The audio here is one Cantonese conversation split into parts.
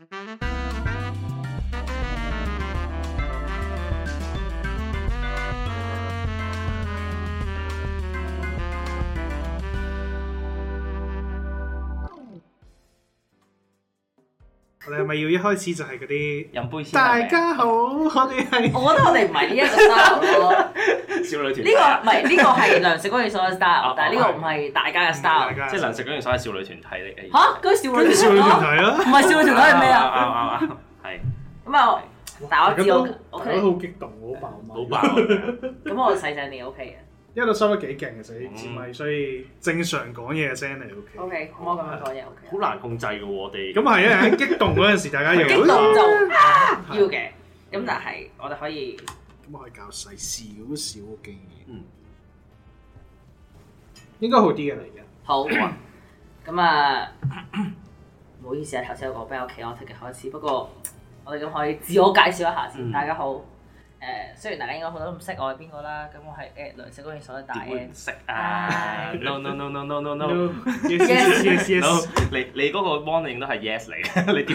我哋係咪要一開始就係嗰啲飲杯先？ 大家好，我哋係。 我覺得我哋唔係呢一個 style 咯。 少女團呢個唔係呢個係糧食嗰件所謂 style，但係呢個唔係大家嘅 style。 即係糧食嗰件所謂少女團體嚟嘅。 嚇，嗰啲少女團體咯， 唔係少女團體係咩啊？ 啱，係。 咁啊，但係我知我 OK。 好激動，好爆嘛！ 好爆。 咁我細聲啲 OK 嘅。 因為都收得幾勁，其實啲字咪，所以正常講嘢嘅聲嚟 OK。 OK，咁我咁樣講嘢 OK。 好難控制嘅喎，我哋。 咁係啊！喺激動嗰陣時，大家要激動就要嘅。咁但係我哋可以。 咁我係教細少少嘅經驗。應該好啲嘅嚟嘅。 好。咁啊，唔好意思啊，頭先有個比較 chaotic嘅開始，不過我哋咁可以自我介紹一下先。大家好。雖然大家應該好多都唔識我係邊個啦，咁我係糧食嗰件所謂大 N。點識啊 ？No。 Yes。 你嗰個 warning 都係 yes 嚟嘅，你點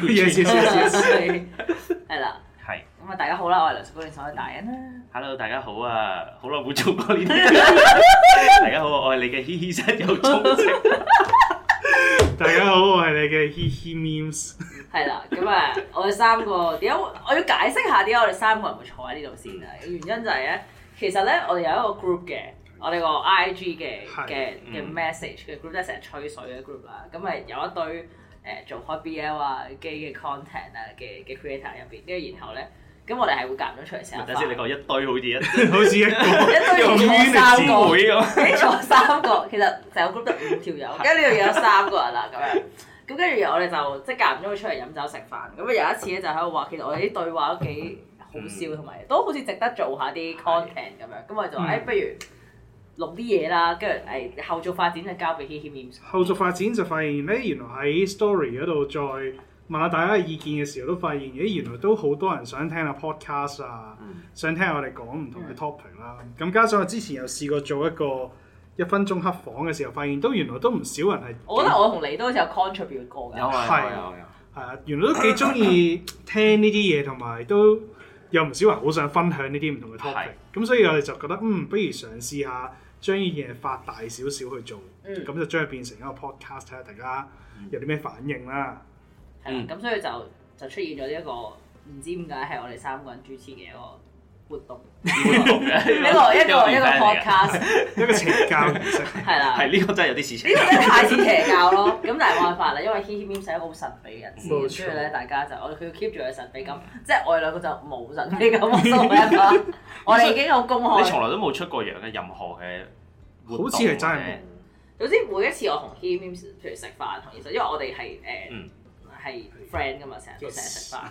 yes？ 係啦。 係。 咁啊，大家好啦，我係糧食嗰件所謂大 N 啦。 Hello， 大家好啊，好耐冇做過呢啲。大家好，我係你嘅嘻嘻室友鍾情。 大家好，我係你嘅嘻嘻 memes。 係啦，咁啊，我哋三個點解我要解釋下點解我哋三個人會坐喺呢度先啊？原因就係咧，其實咧我哋有一個 group 嘅，我哋個 IG 嘅 message 嘅 group，即係成日吹水嘅 group 啦。咁咪有一堆做開 BL 啊、基嘅 content 啊嘅 creator 入邊，跟住然後咧，咁我哋係會夾咗出嚟成日。 等先，你講一堆好似一堆坐三個，你坐三個，其實成個 group 得5條友，跟住呢度有3個人啦咁樣。咁跟住我哋就即係間唔中會出嚟飲酒食飯。咁啊有一次咧就喺度話，其實我哋啲對話都幾好笑，同埋都好似值得做下啲 content 咁樣。咁我哋就話不如錄啲嘢啦，跟住後續發展就交俾 HeHe Memes。 後續發展就發現咧，原來喺 story 嗰度再問下大家嘅意見嘅時候，都發現原來都好多人想聽下 podcast 啊，想聽我哋講唔同嘅 topic 啦。咁加上我之前有試過做一個1分鐘黑房嘅時候，發現都原來都唔少人係。我覺得我同你都好似有 contribute 過㗎。 有係啊，原來都幾中意聽呢啲嘢，同埋都有唔少人好想分享呢啲唔同嘅 topic。咁所以我哋就覺得不如嘗試下將呢件嘢發大少少去做，咁就將佢變成一個 podcast，睇下大家有啲咩反應啦。 咁所以就出現咗呢一個唔知點解係我哋3個人主持嘅一個活動，一個 podcast， 一個邪教形式。 係啦， 係呢個真係有啲事情。 呢個真係太似邪教咯。咁但係冇辦法啦，因為 HeHe Memes 係一個好神秘嘅人士，所以咧大家就佢要 keep 住佢神秘感，即係我哋兩個就冇神秘感喎。我哋已經好公開。 你從來都冇出過樣嘅任何嘅活動， 好似係真係冇。 總之每一次我同 HeHe Memes 譬如食飯同其實因為我哋係係 friend 噶嘛，成日都食飯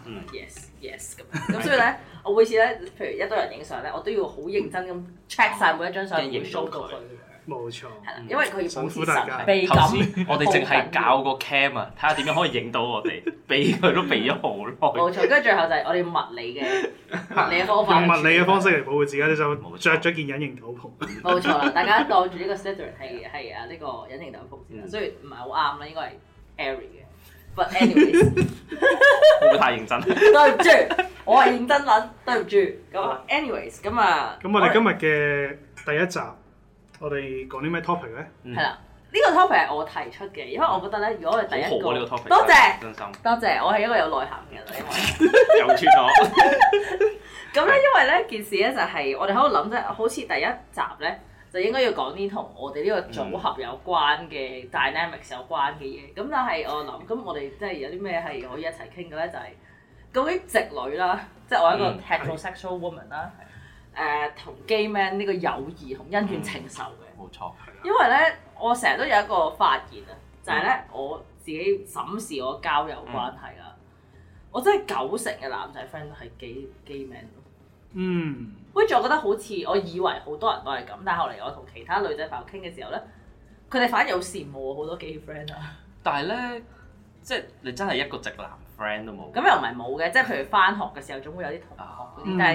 ，yes 咁所以咧，我每次咧，譬如一堆人影相咧，我都要好認真咁 check 晒每一張相，影 show 到佢。 冇錯， 係啦，因為佢要保持神秘感。頭先我哋淨係教個 cam 啊，睇下點樣可以影到我哋，避佢都避咗好耐。 冇錯，跟住最後就係我哋用物理嘅方法， 用物理嘅方式嚟保護自己，就着咗件隱形斗篷。 冇錯啦，大家當住呢個 Slytherin 係啊呢個隱形斗篷先啦，雖然唔係好啱啦，應該係 Harry 嘅。But anyways， 會唔會太認真？ 對唔住，我係認真撚，對唔住。咁 anyways，咁啊， 咁我哋今日嘅第一集，我哋講啲咩 topic 咧？ 係啦，呢個 topic 係我提出嘅，因為我覺得咧，如果我哋第一個， 呢個 topic， 多謝， 真心， 多謝，我係一個有內涵嘅人，因為又穿咗。 咁咧，因為咧件事咧就係我哋喺度諗啫，好似第一集咧。就應該要講啲同我哋呢個組合有關嘅 dynamics 有關嘅嘢，咁但係我諗，咁我哋即係有啲咩係可以一齊傾嘅咧？就係究竟直女啦，即係我一個 heterosexual woman 啦，同 gay man 呢個友誼同恩怨情仇嘅。 冇錯， 因為咧，我成日都有一個發現啊，就係咧我自己審視我交友關係啦，我真係90%嘅男仔 friend 都係 gay man 咯。跟住我覺得好似我以為好多人都係咁，但係後嚟我同其他女仔朋友傾嘅時候咧，佢哋反而好羨慕我好多 gay friend 啊。 但係咧，即係你真係一個直男 friend 都冇。 咁又唔係冇嘅，即係譬如返學嘅時候總會有啲同學嗰啲，但係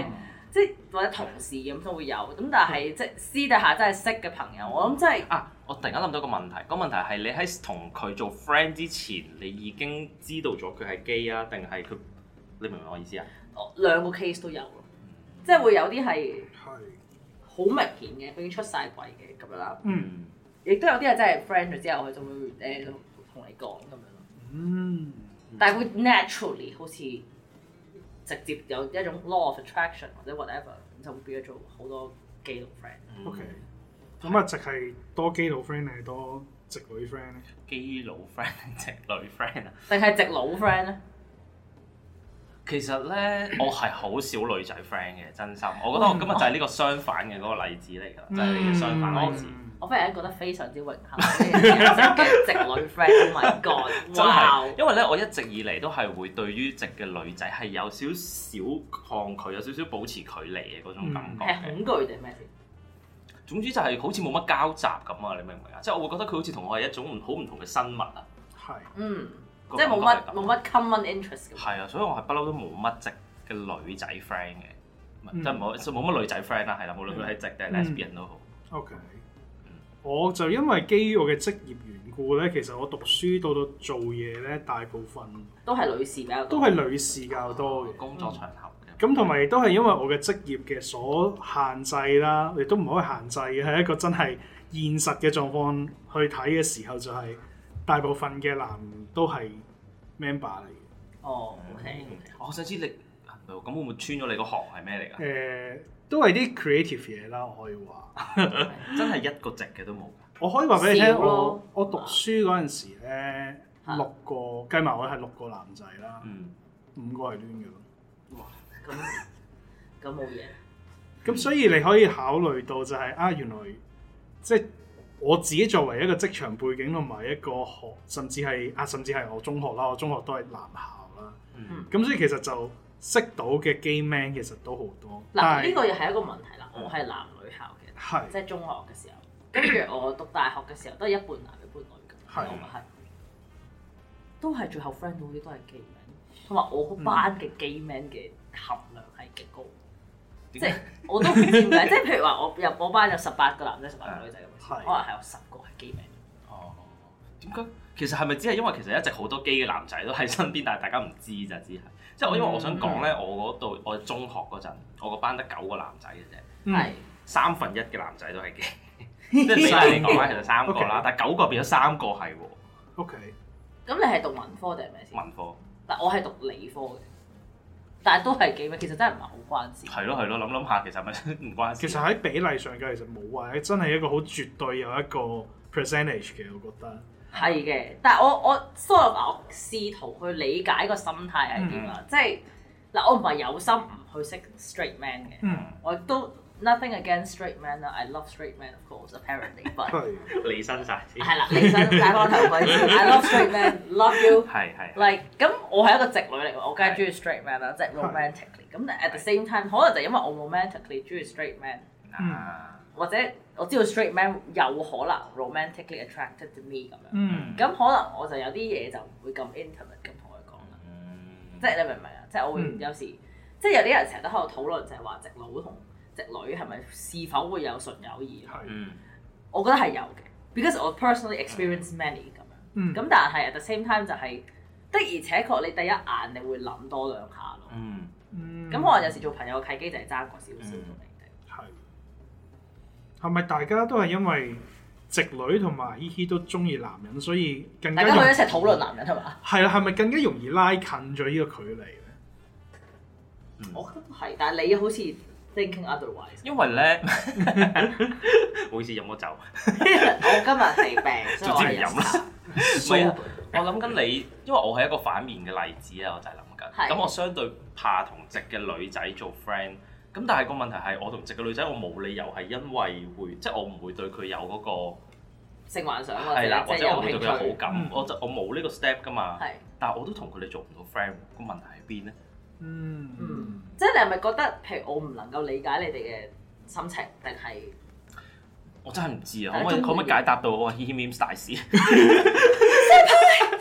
即係或者同事咁都會有，咁但係即係私底下真係識嘅朋友，我諗真係我突然間諗到個問題，個問題係你喺同佢做 friend 之前，你已經知道咗佢係基啊，定係佢？你明唔明我意思啊？ 兩個 case 都有咯，即係會有啲係好明顯嘅，已經出晒櫃嘅咁樣啦。亦都有啲係真係 friend 咗之後，佢就會同你講咁樣咯。但係會 naturally 好似直接有一種 law of attraction 或者 whatever， 就會變咗做好多基佬 friend。 OK， 咁啊，直係多基佬 friend 定係多直女 friend 咧？ 基佬 friend 定直女 friend 啊？ 定係直佬 friend 咧？ 其實咧，我係好少女仔 friend 嘅，真心。我覺得我今日就係呢個相反嘅嗰個例子嚟㗎，就係你嘅相反例子。 我忽然間覺得非常之榮幸，嘅直女 friend，Oh my god！ 真係，因為咧，我一直以嚟都係會對於直嘅女仔係有少少抗拒，有少少保持距離嘅嗰種感覺。 係恐懼定咩先？ 總之就係好似冇乜交集咁啊！你明唔明啊？即係我會覺得佢好似同我係一種好唔同嘅生物啊。 係。 即係冇乜 common interest 嘅。 係啊，所以我係不嬲都冇乜直嘅女仔 friend 嘅，即係冇乜女仔 friend 啦，係啦，無論佢係直定係 lesbian 都好。 OK。我就因為基於我嘅職業緣故咧，其實我讀書到做嘢咧，大部分都係女士比較多， 都係女士較多嘅工作場合嘅。 咁同埋都係因為我嘅職業嘅所限制啦，亦都唔可以限制嘅，係一個真係現實嘅狀況去睇嘅時候，就係大部分嘅男都係 member 嚟嘅。 哦 ，OK。 我想知你咁會唔會穿咗你個行係咩嚟㗎？ 都係啲 creative 嘢啦，我可以話。 真係一個直嘅都冇。 我可以話俾你聽，我讀書嗰陣時咧，6個計埋我係6個男仔啦，5個係攣嘅咯。 哇！咁冇嘢。 咁所以你可以考慮到就係原來即係我自己作為一個職場背景同埋一個學，甚至係我中學啦，我中學都係男校啦。咁所以其實就識到嘅 gay man 其實都好多。 嗱，呢個又係一個問題啦。我係男女校嘅，即係中學嘅時候，跟住我讀大學嘅時候都係一半男一半女嘅，我咪係都係最後 friend 到啲都係 gay man，同埋我個班嘅 gay man 嘅含量係極高，即係我都唔知點解，即係譬如話我班有18個男仔18個女仔咁，可能係有10個係 gay man。 哦，點解？其實係咪只係因為其實一直好多 gay 嘅男仔都喺身邊，但係大家唔知咋，只係即係因為我想講咧，我中學嗰陣，我個班得9個男仔嘅啫，係1/3嘅男仔都係 gay， 即係比例嚟講咧，其實3個啦，但係9個變咗3個係喎。 OK， 咁你係讀文科定係咩先？ 文科， 但我係讀理科嘅，但係都係 gay 咩？其實真係唔係好關事。 係咯，諗下，其實咪唔關事。 其實喺比例上嘅，其實冇話真係一個好絕對有一個 percentage 嘅，我覺得。 係嘅，但係我試圖去理解個心態係點啊？即係嗱，我唔係有心唔去識 straight man 嘅，我都 nothing against straight man 啦 ，I love straight man of course apparently，but 離身晒先。 係啦，離身戴翻頭盔先 ，I love straight man，love you，係 like 咁我係一個直女嚟嘅，我梗係中意 straight man 啦，即係 romantically。咁但 at the same time，可能就因為我 romantically 中意 straight man，或者我知道 straight man 有可能 romantically attracted to me 咁樣，咁可能我就有啲嘢就唔會咁 intimate 咁同佢講啦。即係你明唔明啊？即係我會有時，即係有啲人成日都喺度討論，就係話直佬同直女係咪是否會有純友誼？我覺得係有嘅 ，because 我 personally experience many 咁樣。咁但係 at the same time 就係的而且確你第一眼你會諗多兩下咯。咁可能有時做朋友嘅契機就係爭過少少同你哋。 係咪大家都係因為直女同埋依依都中意男人，所以更加大家可以一齊討論男人係嘛？係啦，係咪更加容易拉近咗呢個距離咧？ 我覺得係，但係你好似 thinking otherwise。因為咧，唔好意思飲咗酒。 我今日係病，所以我係飲啦。 唔係啊，我諗緊你，因為我係一個反面嘅例子啊，我就係諗緊。咁我相對怕同直嘅女仔做 friend。咁但係個問題係，我同直嘅女仔，我冇理由係因為會，即係我唔會對佢有嗰個性幻想或者我會對佢有好感，我冇呢個 step 噶嘛。但係我都同佢哋做唔到 friend，個問題喺邊咧？ 即係你係咪覺得，譬如我唔能夠理解你哋嘅心情，定係？ 我真係唔知啊！可唔可以解答到我 He Memes 大師？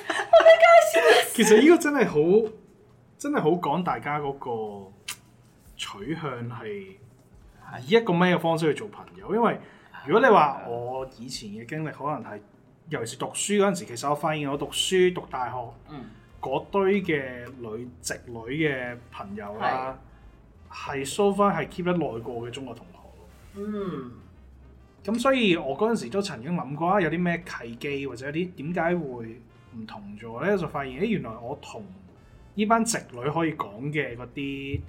其實呢個真係好講大家嗰個取向係以一個咩嘅方式去做朋友，因為如果你話我以前嘅經歷，可能係尤其是讀書嗰陣時，其實我發現我讀書讀大學嗰堆嘅直女嘅朋友啦，係 so far 係 keep 得耐過嘅中學同學。咁所以我嗰陣時都曾經諗過有啲咩契機或者有啲點解會唔同咗咧，就發現原來我同呢班直女可以講嘅嗰啲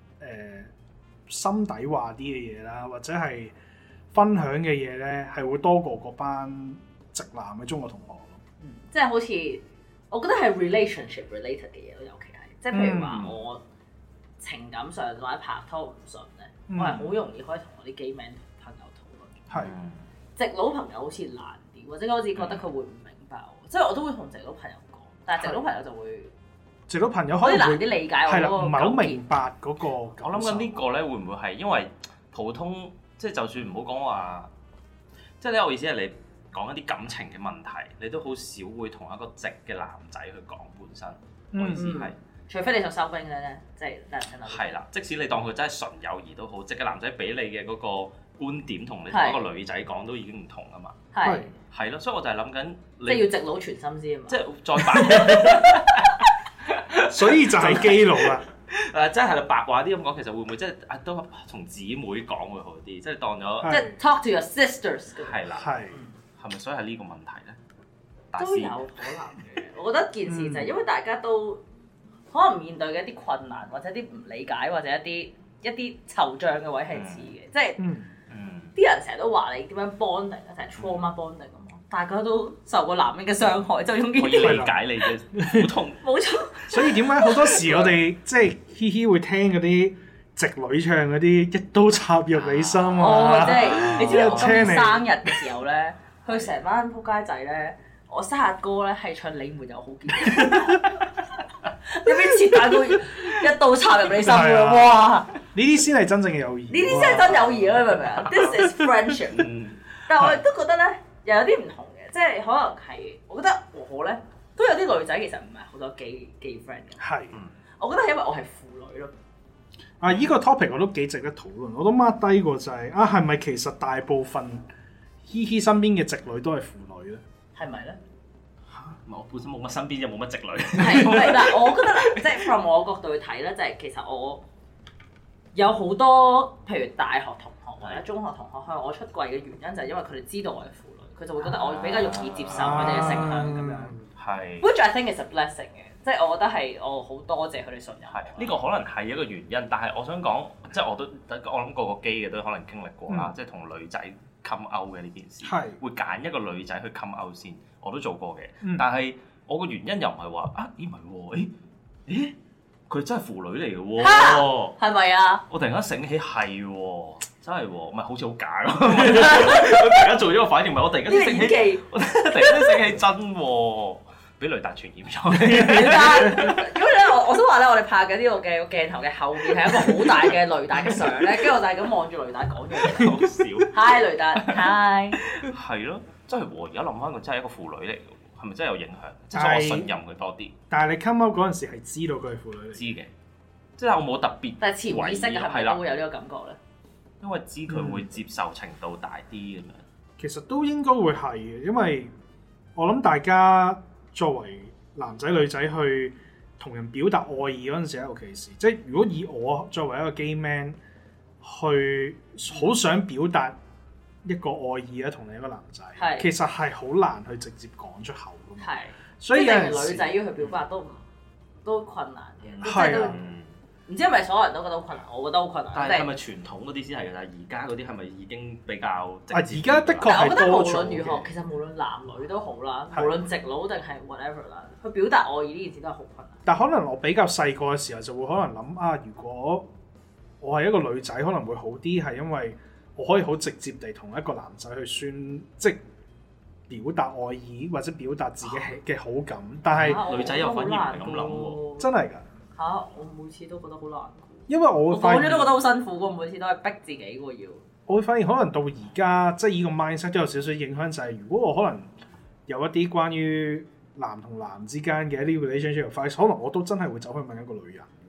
心底話啲嘅嘢啦，或者係分享嘅嘢咧，係會多過嗰班直男嘅中學同學咯。 即係好似我覺得係 relationship related 嘅嘢咯，尤其係即係譬如話我情感上或者拍拖唔順咧，我係好容易可以同我啲 gay man 朋友討論。直佬朋友好似難啲，或者我好似覺得佢會唔明白我，即係我都會同直佬朋友講，但係直佬朋友就會。直佬朋友可以難啲理解我嗰個，唔係好明白嗰個。我諗緊呢個咧，會唔會係因為普通即係就算唔好講話，即係咧我意思係你講一啲感情嘅問題，你都好少會同一個直嘅男仔去講本身。我意思係， 除非你想收兵嘅咧，即係男仔。 係啦，即使你當佢真係純友誼都好，直嘅男仔俾你嘅嗰個觀點同你同一個女仔講都已經唔同啊嘛。係咯，所以我就係諗緊， 即係要直佬全心先啊嘛。 即係再白。 所以就係基佬啦。 即係白話啲咁講，其實會唔會即係都同姊妹講會好啲？即係當咗即係 talk to your sisters。 係啦，係咪所以係呢個問題咧？ 都有可能嘅。我覺得件事就係因為大家都可能面對嘅一啲困難，或者啲唔理解，或者一啲惆悵嘅位係似嘅，即係啲人成日都話你點樣 bonding 啊，就係 trauma bonding 咁。大家都受過男人嘅傷害，就用呢啲可以理解你嘅苦痛。 冇錯。 所以點解好多時我哋即係嘻嘻會聽嗰啲直女唱嗰啲一刀插入你心啊！ 即係你知道我今年生日嘅時候咧，佢成班仆街仔咧，我生日歌咧係唱你沒有好結局，有邊切大到一刀插入你心嘅哇！ 呢啲先係真正嘅友誼。 呢啲先係真友誼咯，你明唔明啊 ？This is friendship。但係我亦都覺得咧。又有啲唔同嘅，即係可能係，我覺得我咧都有啲女仔其實唔係好多 gay friend 嘅。係，我覺得係因為我係腐女咯。 依個 topic 我都幾值得討論，我都 mark 低過就係係咪其實大部分嘻嘻身邊嘅直女都係腐女咧？係咪咧？ 我本身冇乜身邊就冇乜直女。 係，但係我覺得即係 from 我角度去睇咧，就係其實我有好多譬如大學同學或者中學同學向我出櫃嘅原因就係因為佢哋知道我係腐女。佢就會覺得我比較容易接受佢哋嘅性向咁樣，係。Which I think is a blessing 嘅，即係我覺得係我好多謝佢哋信任。係， 呢個可能係一個原因，但係我想講，即係我諗個個基嘅都可能經歷過啦，即係同女仔 come out 嘅呢件事，會揀一個女仔去 come out 先，我都做過嘅。但係我個原因又唔係話咦唔係喎，佢真係腐女嚟嘅喎， 係咪啊？ 我突然間醒起係喎。真係喎，唔係好似好假咯！我突然間做咗個反應，唔係我突然間醒起，我突然間醒起真喎，俾雷達傳染咗。 雷達，因為咧，我想話咧，我哋拍緊呢個嘅鏡頭嘅後面係一個好大嘅雷達嘅相咧，跟住我就係咁望住雷達講嘢。 好笑。 Hi 雷達 ，Hi。 係咯，真係喎！而家諗翻佢真係一個腐女嚟嘅，係咪真係有影響？即係我信任佢多啲。 但係你 come out 嗰陣時係知道佢係腐女嚟。 知嘅，即係我冇特別。 但係潛意識係咪都會有呢個感覺咧？ 因為知佢會接受程度大啲咁樣， 其實都應該會係嘅，因為我諗大家作為男仔女仔去同人表達愛意嗰陣時，尤其是即係如果以我作為一個 gay man 去好想表達一個愛意咧，同你一個男仔，其實係好難去直接講出口㗎嘛。係，所以有陣時女仔要去表達都困難嘅，係啊。唔知係咪所有人都覺得好困難？我覺得好困難。 但係係咪傳統嗰啲先係嘅？但係而家嗰啲係咪已經比較直接？ 而家的確係多咗嘅。我覺得無論如何， 其實無論男女都好啦，無論直佬定係 whatever 啦，去表達愛意呢件事都係好困難。 但可能我比較細個嘅時候就會可能諗如果我係一個女仔，可能會好啲，係因為我可以好直接地同一個男仔去即表達愛意或者表達自己嘅好感。但係女仔又反而唔係咁諗喎， 真係㗎。 我每次都覺得好難， 因為我會發現講咗都覺得好辛苦喎，每次都係逼自己喎要。 我會發現可能到而家即係呢個 mindset 都有少少影響，就係如果我可能有一啲關於男同男之間嘅一啲 relationship advice，可能我都真係會走去問一個女人。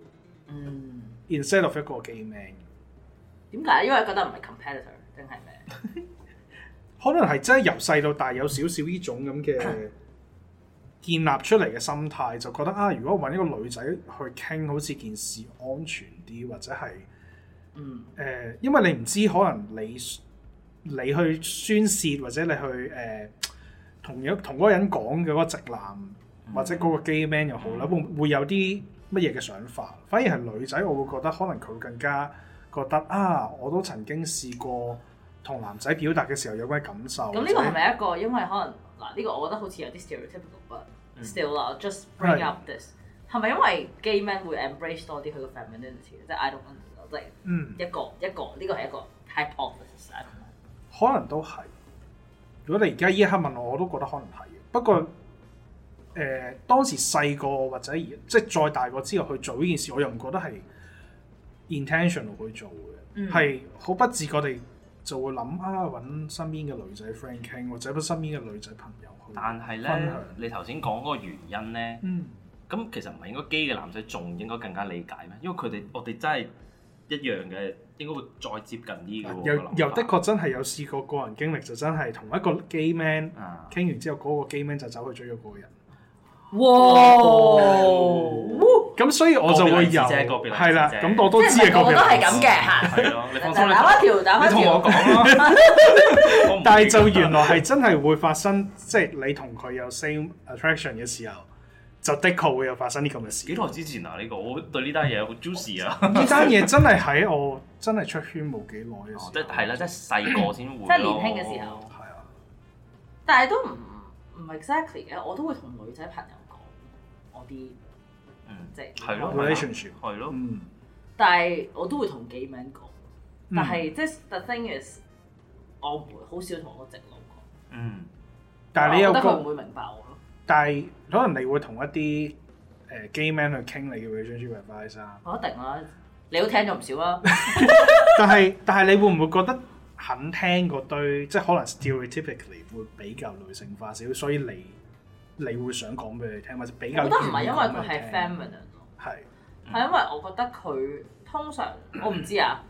instead of 一個 gay man。 點解？因為覺得唔係 competitor 定係咩？ 可能係真係由細到大有少少呢種咁嘅建立出嚟嘅心態，就覺得啊，如果揾一個女仔去傾，好似件事安全啲，或者係因為你唔知可能你去宣泄，或者你去同嗰個人講嘅嗰個直男或者嗰個 gay man 又好啦，會有啲乜嘢嘅想法？反而係女仔，我會覺得可能佢會更加覺得啊，我都曾經試過同男仔表達嘅時候有咩感受。咁呢個係咪一個？因為可能嗱，呢個我覺得好似有啲 stereotypical，but still 啦，just bring up this 係咪因為 gay man 會 embrace 多啲佢個 femininity？ 即係 I don't know， 即係一個呢個係一個 hypothesis。 可能都係。如果你而家依一刻問我，我都覺得可能係。不過當時細個或者即係再大個之後去做呢件事，我又唔覺得係 intentional 去做嘅，係好不自覺地就會諗啊，揾身邊嘅女仔 friend 傾，或者揾身邊嘅女仔朋友去。但係咧， 你頭先講嗰個原因咧，咁其實唔係應該基嘅男仔仲應該更加理解咩？因為我哋真係一樣嘅，應該會再接近啲嘅。又的確真係有試過個人經歷，就真係同一個 gay man 傾完之後，嗰個 gay man 就走去追咗嗰個人。哇！咁所以我就會有係啦，咁我都知係個別例子。我都係咁嘅嚇。係咯，你放心，打翻條。你同我講啦。但係就原來係真係會發生，即係你同佢有 same attraction 嘅時候，就的確會有發生啲咁嘅事。 幾耐之前啊？呢個我對呢單嘢好 juicy 啊！ 呢單嘢真係喺我真係出圈冇幾耐嘅時候。 即係啦，即係細個先會。 即係年輕嘅時候。係啊。但係都唔 exactly 嘅，我都會同女仔朋友講我啲即係 relationship 係咯， 但係我都會同 gay man 講，但係即係 the thing is， 我唔會好少同我直佬講。 但係你又覺得佢唔會明白我咯。 但係可能你會同一啲gay man 去傾你嘅 relationship advice 啊？ 我一定啦，你都聽咗唔少啦。 但係你會唔會覺得肯聽嗰堆，即係可能 stereotypically 會比較女性化少少，所以你會想講俾佢聽，或者比較？ 我覺得唔係因為佢係 feminine 咯， 係因為我覺得佢通常我唔知啊，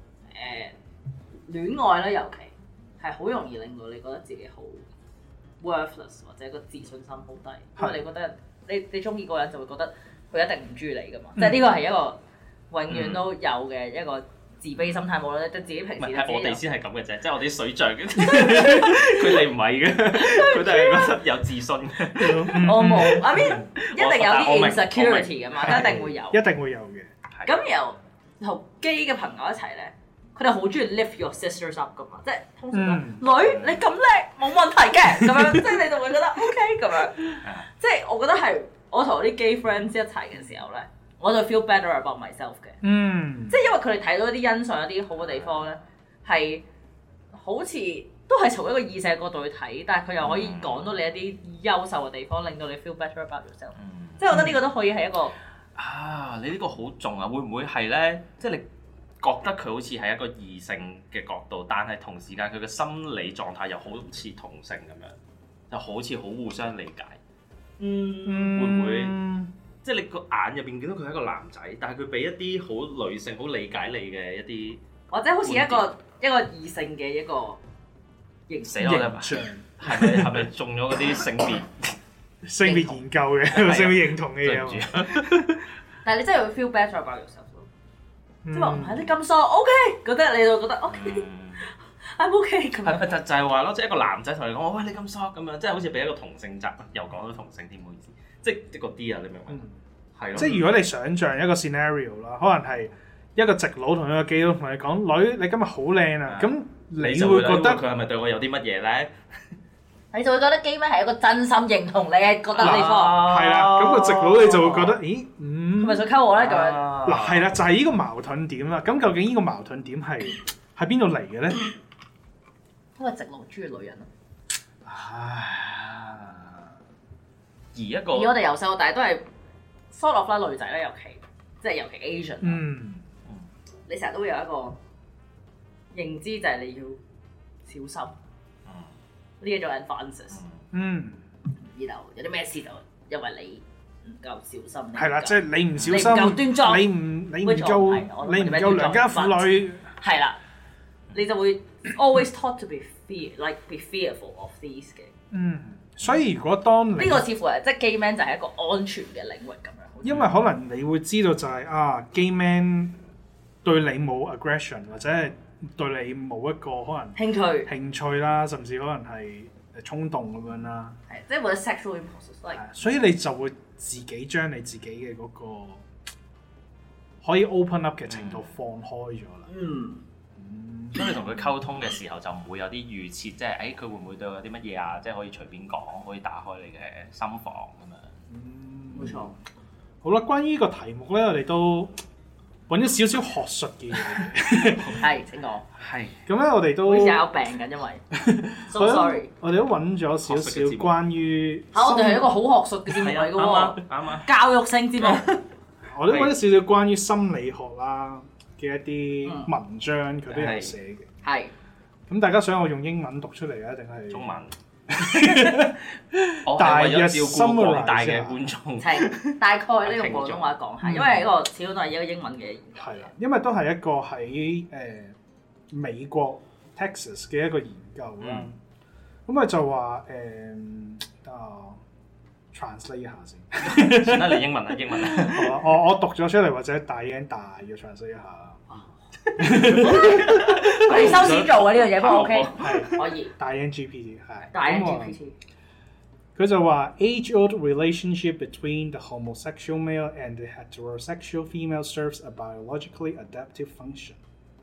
戀愛咧尤其係好容易令到你覺得自己好 worthless 或者個自信心好低，因為你覺得你中意嗰個人就會覺得佢一定唔中意你㗎嘛，即係呢個係一個永遠都有嘅一個自卑心態，冇啦，即係自己平時係我哋先係咁嘅啫，即係我哋水象嘅，佢哋唔係嘅，佢哋係覺得有自信嘅。 我冇，I mean 一定有啲 insecurity 㗎嘛，一定會有， 一定會有嘅。 咁然後同基嘅朋友一齊咧，佢哋好中意 lift your sisters up 㗎嘛，即係通常都女你咁叻冇問題嘅咁樣，即係你就會覺得 OK 咁樣。即係我覺得係我同我啲 gay friends 一齊嘅時候咧，我就 feel better about myself 嘅。即係因為佢哋睇到一啲欣賞一啲好嘅地方咧，係好似都係從一個異性角度去睇，但係佢又可以講到你一啲優秀嘅地方，令到你 feel better about yourself。即係我覺得呢個都可以係一個你呢個好重啊！會唔會係咧？即係你覺得佢好似係一個異性嘅角度，但係同時間佢嘅心理狀態又好似同性咁樣，就好似好互相理解。會唔會？即係你個眼入邊見到佢係一個男仔，但係佢俾一啲好女性、好理解你嘅一啲， 或者好似一個異性嘅一個形象， 係咪中咗嗰啲性別研究嘅性別認同嘅嘢？ 但係你真係會 feel better about yourself 咯，即係話唔係你咁傻 OK，覺得你就覺得 OK，I'm OK 咁樣。 就係話咯，即係一個男仔同你講，喂，你咁傻咁樣，即係好似俾一個同性質，又講到同性添，唔好意思。即係嗰啲啊，你明唔明？係咯。即係如果你想像一個 scenario 啦，可能係一個直佬同一個基佬同你講：女，你今日好靚啊！咁你會覺得佢係咪對我有啲乜嘢咧？ 你就會覺得基妹係一個真心認同你嘅覺得地方。 係啦，咁個直佬你就會覺得，咦， 係咪想溝我咧？咁樣嗱，係啦，就係呢個矛盾點啦。咁究竟呢個矛盾點係喺邊度嚟嘅咧？ 因為直佬中意女人啊。而我哋由細到大都係 sort of 啦，女仔咧，尤其 Asian。你成日都會有一個認知，就係你要小心。呢一種 advances。然後有啲咩事就因為你夠小心。 係啦，即係你唔小心， 你唔夠端莊， 你唔夠良家婦女。 係啦，你就會 always taught to be fearful of these 嘅。 所以如果當你呢個似乎係即係 gay man 就係一個安全嘅領域咁樣。 因為可能你會知道就係gay man 對你冇 aggression 或者係對你冇一個可能興趣啦，甚至可能係衝動咁樣啦。 係，即係或者 sexual impulses。 所以你就會自己將你自己嘅嗰個可以 open up 嘅程度放開咗啦。 所以你同佢溝通嘅時候就唔會有啲預設，即係佢會唔會對我有啲乜嘢啊？即係可以隨便講，可以打開你嘅心房咁樣。 冇錯。 好啦，關於呢個題目咧，我哋都揾咗少少學術嘅嘢。 係，請講。 係。咁咧，我哋都好似有病緊，因為。So sorry。 我哋都揾咗少少關於。 我哋係一個好學術嘅節目嚟嘅喎。啱啊。教育性節目。 我都揾咗少少關於心理學啦嘅一啲文章，佢都有寫嘅。係。咁大家想我用英文讀出嚟啊，定係中文？ 大約照顧廣大嘅觀眾。 大概呢個廣東話講下，因為呢個始終都係一個英文嘅研究。 係啦，因為都係一個喺美國 Texas 嘅一個研究啦。咁佢就話translate 一下先。 算啦，你英文啊，英文啊。 我讀咗出嚟，或者大約 translate 一下啦。 你收錢做嘅呢樣嘢，不過 OK， 可以。 大 GPT 係。 大 GPT。 佢就話 age-old relationship between the homosexual male and the heterosexual female serves a biologically adaptive function.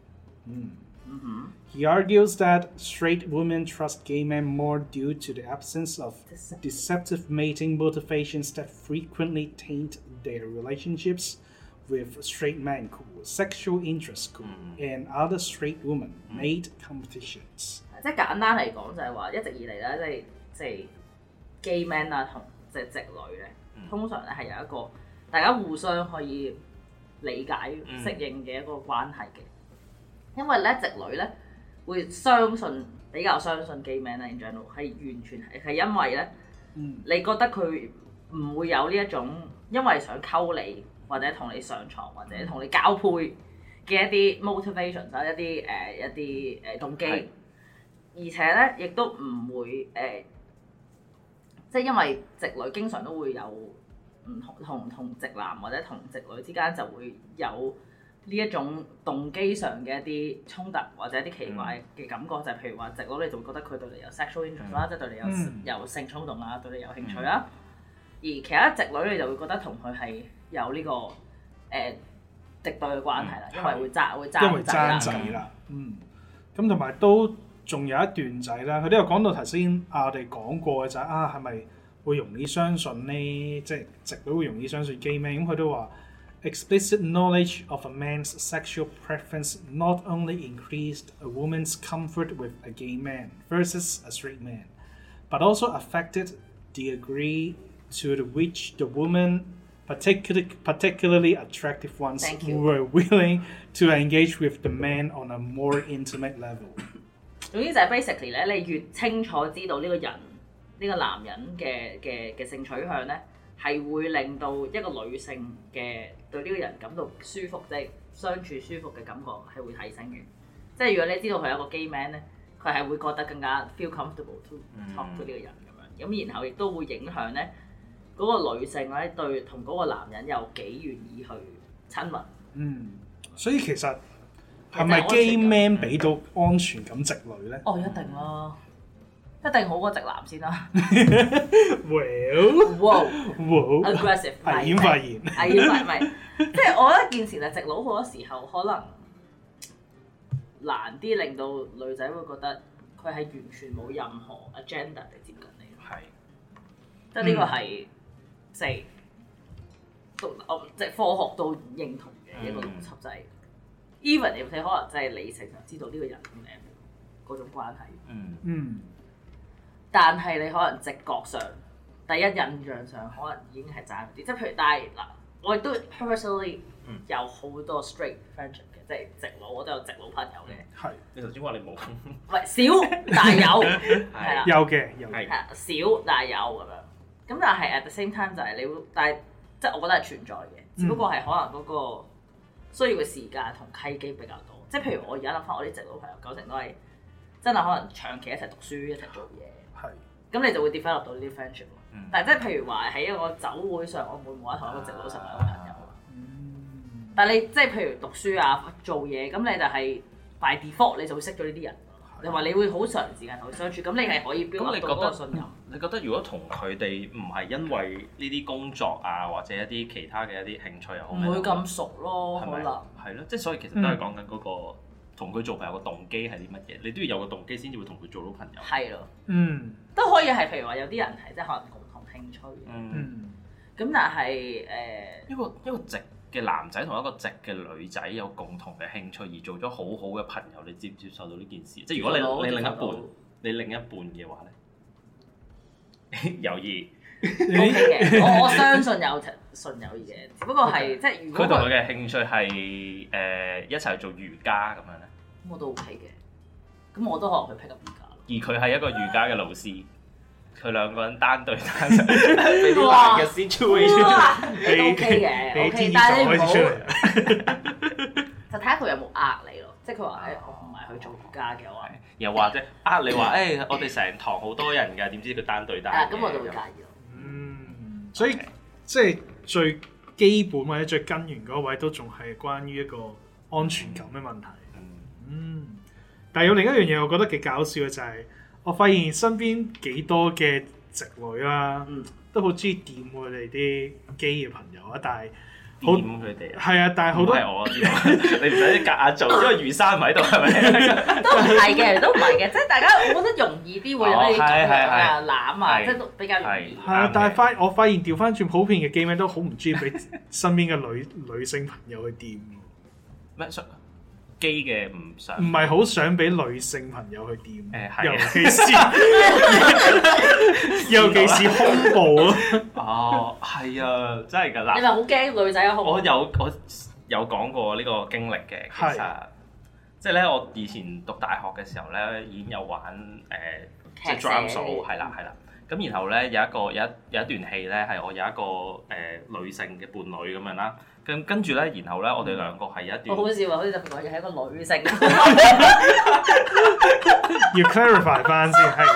He argues that straight women trust gay men more due to the absence of deceptive mating motivations that frequently taint their relationships with straight men whose sexual interests and other straight women mate competitions。即係簡單嚟講就係話一直以嚟咧，即係 gay man 啊同即係直女咧，通常咧係有一個大家互相可以理解適應嘅一個關係嘅。因為咧直女咧會比較相信 gay man 啦 in general 係完全係因為咧，你覺得佢唔會有呢一種因為想溝你或者同你上床或者同你交配嘅一啲 motivation 一啲動機，而且咧亦都唔會即係因為直女經常都會有唔同直男或者同直女之間就會有呢一種動機上嘅一啲衝突或者一啲奇怪嘅感覺，就係譬如話直女你就會覺得佢對你有 sexual interest 啦，即係對你有性衝動啦，對你有興趣啦，而其他直女你就會覺得同佢係有呢個敵對嘅關係啦，因為會爭仔啦。咁同埋都仲有一段仔啦，佢都有講到頭先我哋講過嘅就係係咪會容易相信呢？即係直女會容易相信 gay man？ 咁佢都話 explicit knowledge of a man's sexual preference not only increased a woman's comfort with a gay man versus a straight man, but also affected the degree to which the woman,particularly attractive ones were willing to engage with the man on a more intimate level。 總之就係 basically 咧，你越清楚知道呢個人呢個男人嘅性取向咧，係會令到一個女性嘅對呢個人感到舒服，即係相處舒服嘅感覺係會提升嘅。即係如果你知道佢係一個 gay man 咧，佢係會覺得更加 feel comfortable to talk to 呢個人咁樣，咁然後亦都會影響咧。嗰個女性咧對同嗰個男人有幾願意去親密，所以其實係咪 gay man 俾到安全感直女咧？哦，一定啦，一定好過直男先啦。Well，aggressive， 危險發言，危險發言，即係我覺得件事就直佬好多時候可能難啲令到女仔會覺得佢係完全冇任何 agenda 嚟接近你。係，即係呢個係。即係科學都認同嘅一個邏輯，就係 even 你可能真係理性上知道呢個人嗰種關係，但係你可能直覺上第一印象上可能已經係爭啲，即係譬如但係嗱，我亦都 personally 有好多 straight friendship 嘅，即係直佬我都有直佬朋友嘅。係，你頭先話你冇，唔係少但係有，係啦，有嘅，係少但係有咁樣。 咁但係 at the same time 就係你會，但係即係我覺得係存在嘅，只不過係可能嗰個需要嘅時間同契機比較多。即係譬如我而家諗翻我啲直路朋友，9成都係真係可能長期一齊讀書一齊做嘢。係。咁你就會 develop 到呢啲 friendship。但係即係譬如話喺一個酒會上，我唔會冇得同一個直路成為一個朋友。但係你即係譬如讀書啊、做嘢，咁你就係 by default 你就會識咗呢啲人。你話你會好長時間同佢相處，咁你係可以 build up 到嗰個信任。 你覺得如果同佢哋唔係因為呢啲工作啊，或者一啲其他嘅一啲興趣又好， 唔會咁熟咯，可能係咯，即係所以其實都係講緊嗰個同佢做朋友嘅動機係啲乜嘢，你都要有個動機先至會同佢做到朋友。係咯， 都可以係譬如話有啲人係即係可能共同興趣嘅，咁但係一個直嘅男仔同一個直嘅女仔有共同嘅興趣而做咗好好嘅朋友，你接唔接受到呢件事？即係如果你另一半嘅話咧，猶豫 OK 嘅，我相信有純友誼嘅，只不過係即係如果佢同佢嘅興趣係一齊做瑜伽咁樣咧， 咁我都 OK嘅，咁我都可能去 pick up 瑜伽。 而佢係一個瑜伽嘅老師。佢兩個人單對單上，俾啲難嘅 situation， 都 OK 嘅，OK，但係你唔好就睇下佢有冇呃你咯，即係佢話我唔係去做瑜伽嘅話， 又或者呃你話我哋成堂好多人㗎，點知佢單對單？ 咁我就會介意咯。 所以即係最基本或者最根源嗰位都仲係關於一個安全感嘅問題。但係有另一樣嘢，我覺得幾搞笑嘅就係。我發現身邊幾多嘅直女啦，都好中意掂佢哋啲基嘅朋友啊，但係掂佢哋啊， 係啊，但係好多係我你唔使夾硬做，因為余生唔喺度係咪？ 都唔係嘅，都唔係嘅，即係大家我覺得容易啲會有啲咁樣啊攬啊，即係都比較容易。 係啊，但係我發現調翻轉普遍嘅基妹都好唔中意俾身邊嘅女性朋友去掂。 咩？基嘅唔想， 唔係好想俾女性朋友去掂，尤其是胸部咯。 哦，係啊，真係㗎啦！ 你咪好驚女仔嘅胸部？ 我有講過呢個經歷嘅，其實即係咧，我以前讀大學嘅時候咧，已經有玩即係 drum 數，係啦。咁然後咧有一段戲咧係我有一個女性嘅伴侶咁樣啦。跟住咧，然後咧，我哋兩個係有一段好笑啊！好似特別講嘢係一個女性， 要 clarify 翻先係。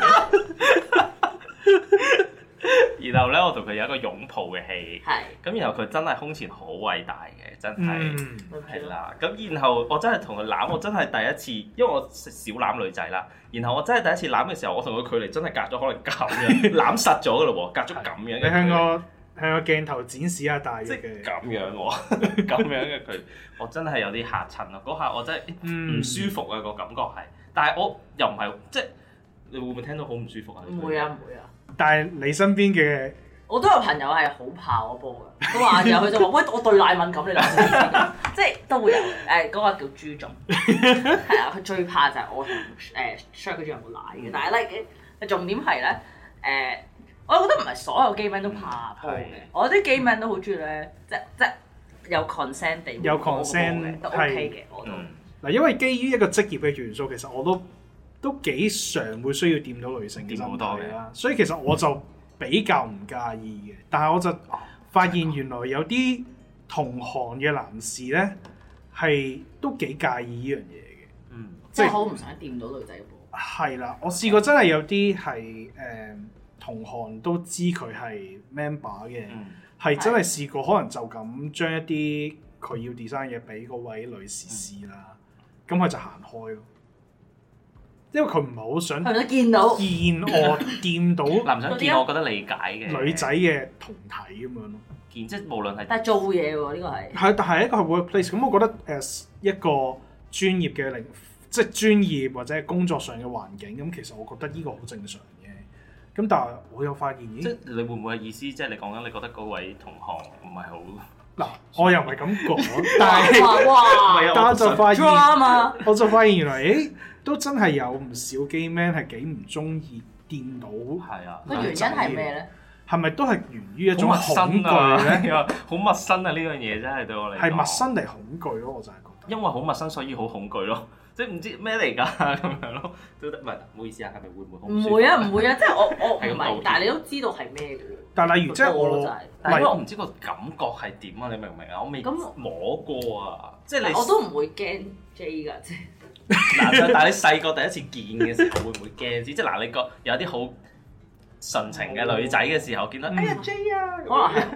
然後咧，我同佢有一個擁抱嘅戲， 係。 咁然後佢真係胸前好偉大嘅，真係係啦。咁然後我真係同佢攬，我真係第一次，因為我少攬女仔啦。然後我真係第一次攬嘅時候，我同佢距離真係隔咗可能咁樣攬實咗㗎咯喎，隔咗咁樣。 你向個鏡頭展示下大約嘅， 咁樣喎，咁樣嘅佢，我真係有啲嚇親咯。嗰下我真係唔舒服啊，個感覺係，但係我又唔係即係你會唔會聽到好唔舒服啊？ 唔會啊，唔會啊。 但係你身邊嘅， 我都有朋友係好怕我波嘅，佢話然後佢就話喂，我對奶敏感，你諗下，即係都會有嗰個叫豬種，係啊，佢最怕就係我同share 佢仲有冇奶嘅，但係咧重點係咧我覺得唔係所有 gay man 都怕波嘅，我啲 gay man 都好中意咧，即有 consent 地有 consent 都 OK 嘅，我都嗱，因為基於一個職業嘅元素，其實我都幾常會需要掂到女性嘅身體啦，所以其實我就比較唔介意嘅。但係我就發現原來有啲同行嘅男士咧係都幾介意呢樣嘢嘅， 即係好唔想掂到女仔嘅波。 係啦，我試過真係有啲係同行都知佢係 member 嘅，係真係試過可能就咁將一啲佢要 design 嘢俾嗰位女士試啦，咁佢就行開咯，因為佢唔係好想見我掂到男想見我覺得理解嘅女仔嘅胴體咁樣咯， 見即係無論係但係做嘢喎呢個係但係一個 workplace， 咁我覺得as一個專業嘅即係專業或者係工作上嘅環境，咁其實我覺得呢個好正常。咁但係我有發現， 即係你會唔會嘅意思，即係你講緊你覺得嗰位同行唔係好嗱，我又唔係咁講，但係我就發現原來都真係有唔少 gay man 係幾唔中意掂到， 係啊， 個原因係咩咧？ 係咪都係源於一種恐懼咧？ 好陌生啊！呢樣嘢真係對我嚟講係陌生定恐懼咯，我就係覺得， 因為好陌生，所以好恐懼咯。 即係唔知咩嚟㗎咁樣咯，都得唔係？唔好意思啊，係咪會唔會好唔舒服？ 唔會啊，唔會啊，即係我唔係，但係你都知道係咩嘅喎。 但係例如即係我， 但係因為我唔知個感覺係點啊，你明唔明啊？我未摸過啊，即係你我都唔會驚 J 㗎，即係。 嗱，但係你細個第一次見嘅時候會唔會驚先？即係嗱，你個有啲好純情嘅女仔嘅時候，見到哎呀 J 啊，可能係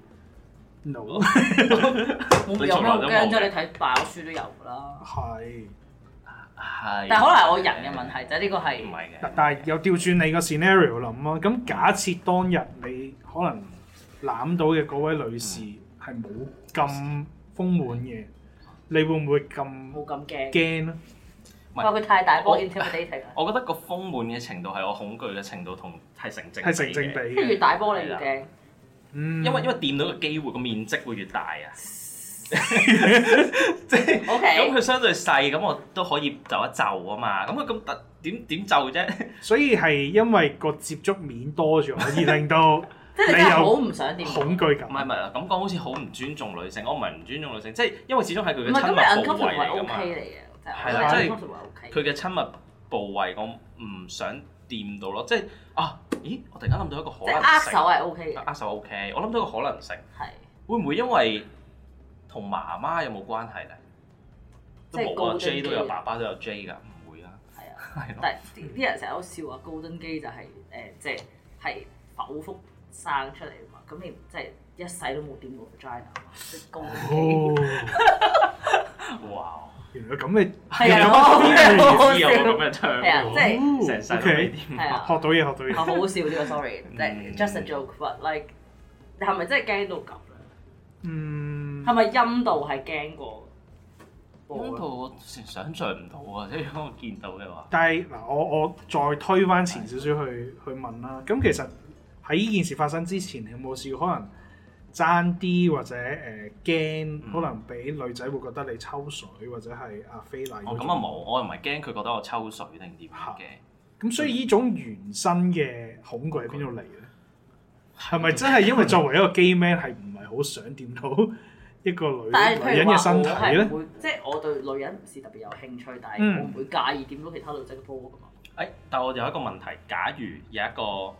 no， 有咩好驚啫？你睇爆書都有㗎啦。 係。 但係可能係我人嘅問題啫，呢個係唔係嘅。 但係又調轉你個 scenario 諗啊，咁假設當日你可能攬到嘅嗰位女士係冇咁豐滿嘅，你會唔會冇咁驚咧？ 話佢太大波 intimidating 啊！ 我覺得個豐滿嘅程度係我恐懼嘅程度同係成正比嘅。 即係越大波你越驚。 因為掂到嘅機會個面積會越大啊。即係咁佢相對細，咁我都可以就一就啊嘛。咁佢咁點就啫？所以係因為個接觸面多咗，而令到即係你真係好唔想掂恐懼感。 唔係啊，咁講好似好唔尊重女性。我唔係唔尊重女性，即係因為始終係佢嘅親密部位嚟㗎嘛。係啦，即係佢嘅親密部位，我唔想掂到咯。即係咦？我突然間諗到一個可能性。 握手係 OK 嘅。 握手 OK，我諗到一個可能性。 係。 會唔會因為同媽媽有冇關係咧？都冇啊 ，J 都有爸爸都有 J 㗎，唔會啊。係啊， 但係啲人成日都笑話高登基就係即係剖腹生出嚟啊嘛，咁你即係一世都冇掂過 vagina 啊嘛，即係高登基。哇！ 原來咁嘅係啊， 我有咁嘅唱係啊，即係成世都未掂。 係啊， 學到嘢。 好好笑呢個 sorry，即係 just a joke，but like 你係咪真係驚到咁咧？係咪陰道係驚過？ 陰道我想像唔到啊！即係如果我見到嘅話。但係嗱，我再推翻前少少去問啦。咁其實喺呢件事發生之前，你有冇試過可能爭啲或者驚，可能俾女仔會覺得你抽水或者係非禮？ 咁啊冇，我又唔係驚佢覺得我抽水定點嘅。 咁所以呢種原生嘅恐懼喺邊度嚟咧？係咪真係因為作為一個 gay man 係唔係好想掂到一個女人嘅身體咧？ 即係我對女人唔是特別有興趣，但係我唔會介意掂到其他女仔嘅波㗎嘛。 但係我有一個問題，假如有一個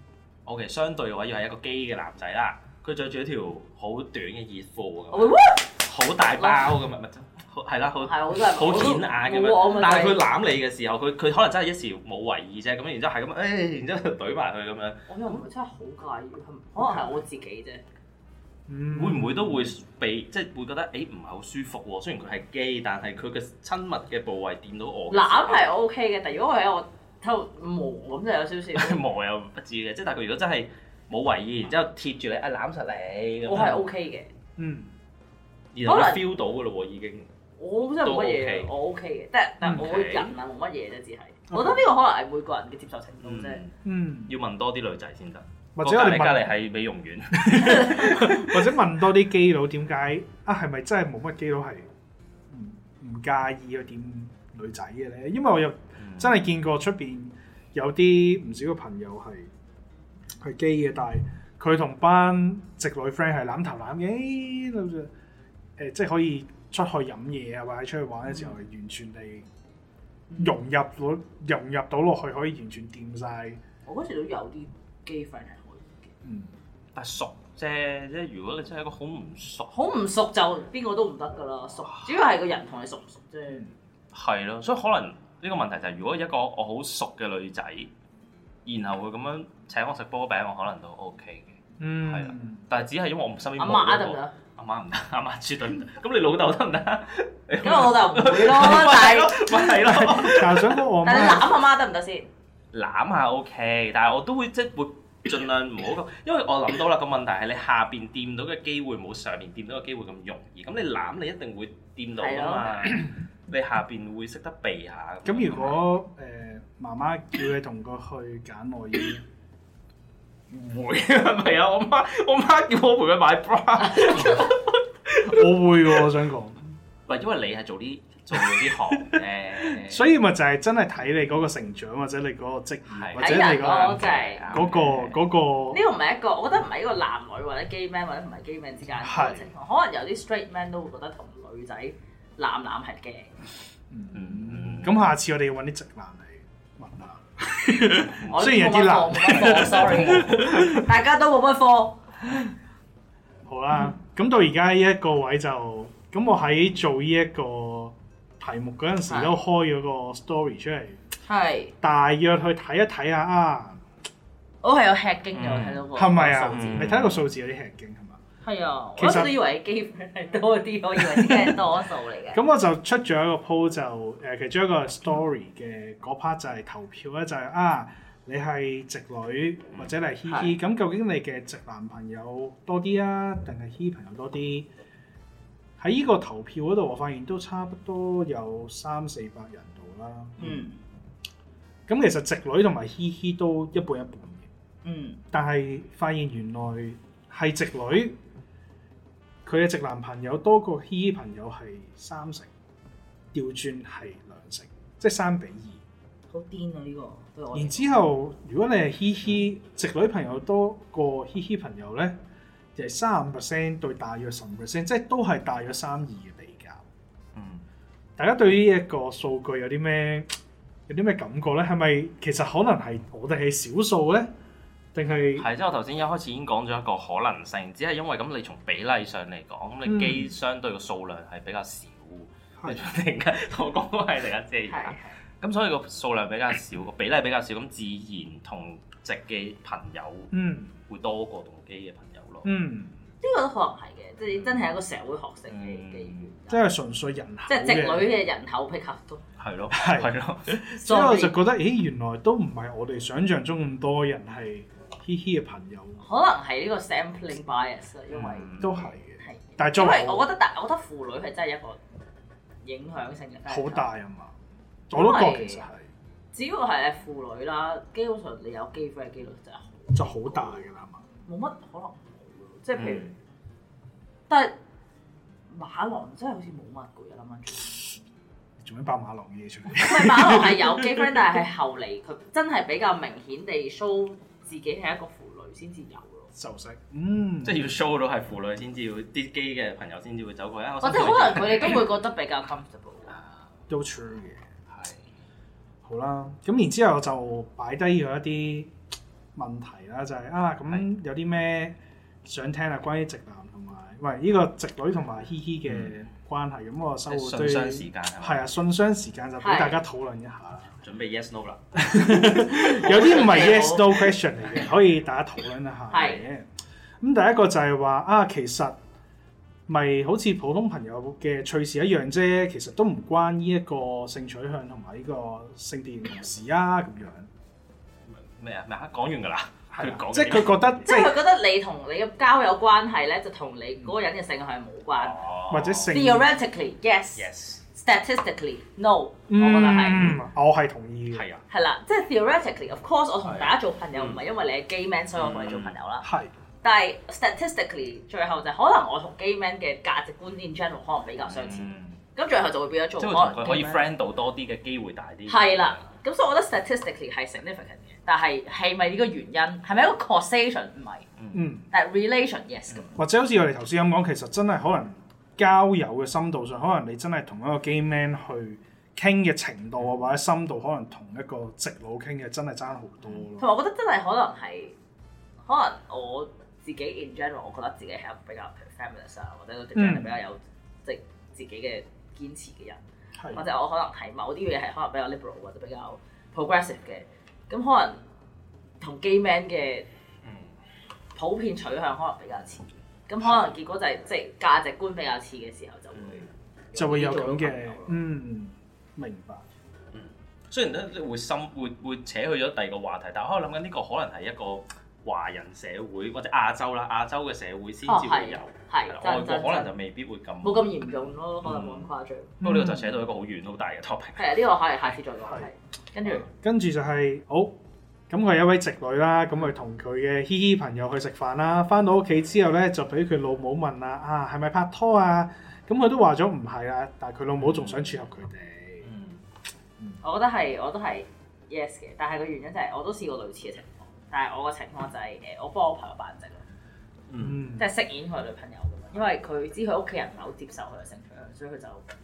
OK 相對嘅話，要係一個 gay 嘅男仔啦，佢着住一條好短嘅熱褲咁，好大包咁啊，係啦，好顯眼咁樣。但係佢攬你嘅時候，佢可能真係一時冇為意啫，咁然之後係咁，然之後懟埋佢咁樣。 我又唔係真係好介意，可能係我自己啫。 會唔會都會被即係會覺得唔係好舒服喎？雖然佢係 gay，但係佢嘅親密嘅部位掂到我。 攬係 OK 嘅，但如果佢喺我喺度磨咁就有少少。 磨又不至嘅，即係但係佢如果真係冇為意，然之後貼住你攬實你， 我係 OK 嘅。 然後你 feel 到㗎咯喎已經。 我真係冇乜嘢，我 OK 嘅，但係我人啊冇乜嘢啫，只係。我覺得呢個可能係每個人嘅接受程度啫。 要問多啲女仔先得。 或者我哋隔離係美容院， 或者問多啲基佬點解係咪真係冇乜基佬係唔介意去掂女仔嘅咧？因為我又真係見過出邊有啲唔少嘅朋友係基嘅，但係佢同班直女 friend 係攬頭攬嘅，即係可以出去飲嘢啊，或者出去玩嘅時候係完全地融入到落去，可以完全掂晒。 我嗰時都有啲基 friend 係。 但係熟啫，即係如果你真係一個好唔熟就邊個都唔得㗎啦。熟主要係個人同你熟唔熟啫。 係咯，所以可能呢個問題就係，如果一個我好熟嘅女仔，然後會咁樣請我食波餅，我可能都 OK 嘅。係啦，但係只係因為我身邊冇嗰個。阿媽得唔得？阿媽唔得，阿媽絕對唔得。咁你老豆得唔得？ 咁我老豆唔會咯，但係咪係咯。 但係你攬阿媽得唔得先？ 攬下 OK，但係我都會即係會。盡量唔好咁，因為我諗到啦，個問題係你下邊掂到嘅機會冇上面掂到嘅機會咁容易。咁你攬你一定會掂到㗎嘛，你下邊會識得避下。 咁如果媽媽叫你同佢去揀內衣， 唔會係咪啊？我媽叫我陪佢買 bra， 我會喎，我想講。 唔係因為你係做啲行嘅， 所以咪就係真係睇你嗰個成長，或者你嗰個職業，或者你嗰個。呢個唔係一個，我覺得唔係一個男女或者 gay man 或者唔係 gay man 之間嘅情況。可能有啲 straight man 都會覺得同女仔男係驚。 咁下次我哋要揾啲直男嚟問下。雖然有啲難，sorry， 大家都冇乜科。 好啦，咁到而家呢一個位就，咁我喺做呢一個題目嗰陣時都開咗個 story 出嚟，係大約去睇一睇下啊。 我係有吃驚嘅，我睇到個係咪啊？你睇個數字有啲吃驚係嘛？ 係啊，我都以為基本係多啲，我以為啲係多數嚟嘅。 咁我就出咗一個 post 就其中一個 story 嘅嗰 part 就係投票咧，就係你係直女或者你係嘻嘻，咁究竟你嘅直男朋友多啲啊，定係嘻朋友多啲？喺呢個投票嗰度，我發現都差不多有300-400人度啦。咁其實直女同埋嘻嘻都一半一半嘅。但係發現原來係直女，佢嘅直男朋友多過嘻嘻朋友係30%，調轉係2成，即係3比2。 好癲啊！呢個對我。然之後，如果你係嘻嘻，直女朋友多過嘻嘻朋友咧，就係35%對大約15%，即係都係大約3-2嘅比較。大家對於呢一個數據有啲咩感覺咧？係咪其實可能係我哋係少數咧？定係係，即係我頭先一開始已經講咗一個可能性，只係因為咁你從比例上嚟講，咁你基相對嘅數量係比較少。你突然間同我講都係另一隻嘢。咁所以個數量比較少，個比例比較少，咁自然同直嘅朋友會多過同基嘅朋友咯。 呢個都可能係嘅，即係真係一個社會學性嘅原因。 即係純粹人口， 即係直女嘅人口比較多。 係咯， 所以我就覺得，原來都唔係我哋想象中咁多人係嘻嘻嘅朋友。 可能係呢個 sampling bias 因為都係嘅。但係因為我覺得腐女係真係一個影響性嘅好大啊嘛。我都覺其實係， 只要係腐女啦，基本上你有基 friend 嘅機率就好大㗎啦嘛。 冇乜可能冇，即係譬如，但係馬郎真係好似冇乜嘅，諗翻轉。 做咩爆馬郎嘅嘢出嚟？ 唔係馬郎係有基 friend，但係後嚟佢真係比較明顯地 show 自己係一個腐女先至有咯。 就識， 即係要 show 到係腐女先至會啲基嘅朋友先至會走過去。 或者可能佢哋都會覺得比較 comfortable。 都 true 嘅。好啦，咁然之後就擺低咗一啲問題啦，就係咁有啲咩想聽啊？關於直男同埋呢個直女同埋嘻嘻嘅關係，咁我收到信箱時間係啊， 信箱時間就俾大家討論一下啦。 準備 yes no 啦， 有啲唔係 yes no question 嚟嘅，可以大家討論一下嘅。咁第一個就係話其實咪好似普通朋友嘅趣事一樣啫，其實都唔關呢一個性取向同埋呢個性別認同事啊咁樣。 咩啊？講完㗎啦。 即係佢覺得， 即係佢覺得你同你嘅交友關係咧，就同你嗰個人嘅性向係冇關， 或者性。 Theoretically yes，statistically no，我覺得係。 我係同意嘅。 係啊。 係啦，即係 theoretically，of course，我同大家做朋友唔係因為你係 gay man，所以我同你做朋友啦。 係。 但係 statistically 最後就可能我同 gay man 嘅價值觀 in general 可能比較相似，咁最後就會變咗做可能佢可以 friend 到多啲嘅機會大啲。 係啦，咁所以我覺得 statistically 係 significant 嘅，但係係咪呢個原因？係咪一個 causation？唔係，但係 relation yes 咁。 或者好似我哋頭先咁講，其實真係可能交友嘅深度上，可能你真係同一個 gay man 去傾嘅程度啊，或者深度，可能同一個直佬傾嘅真係爭好多咯。 同埋我覺得真係可能我自己 in general， 我覺得自己係一個比較 feminist 啊，或者個 gender 比較有即自己嘅堅持嘅人，或者我可能係某啲嘢係可能比較 liberal 或者比較 progressive 嘅，咁可能同 gay man 嘅普遍取向可能比較似，咁可能結果就係即係價值觀比較似嘅時候就會有咁嘅，明白。 雖然咧會扯去咗第二個話題，但係我諗緊呢個可能係一個華人社會或者亞洲嘅社會先至會有，外國可能就未必會咁冇咁嚴重咯，可能冇咁誇張。 不過呢個就扯到一個好遠好大嘅 topic。 係啊，呢個可以下次再講。 跟住就係好，咁佢係一位直女啦，咁佢同佢嘅嘻嘻朋友去食飯啦，翻到屋企之後咧就俾佢老母問啦，係咪拍拖啊？咁佢都話咗唔係啊，但係佢老母仲想撮合佢哋。 我覺得我都係 yes 嘅，但係個原因就係我都試過類似嘅情況。但係我個情況就係我幫我朋友扮直咯，即係飾演佢女朋友咁樣，因為佢知佢屋企人唔係好接受佢嘅性取向，所以佢就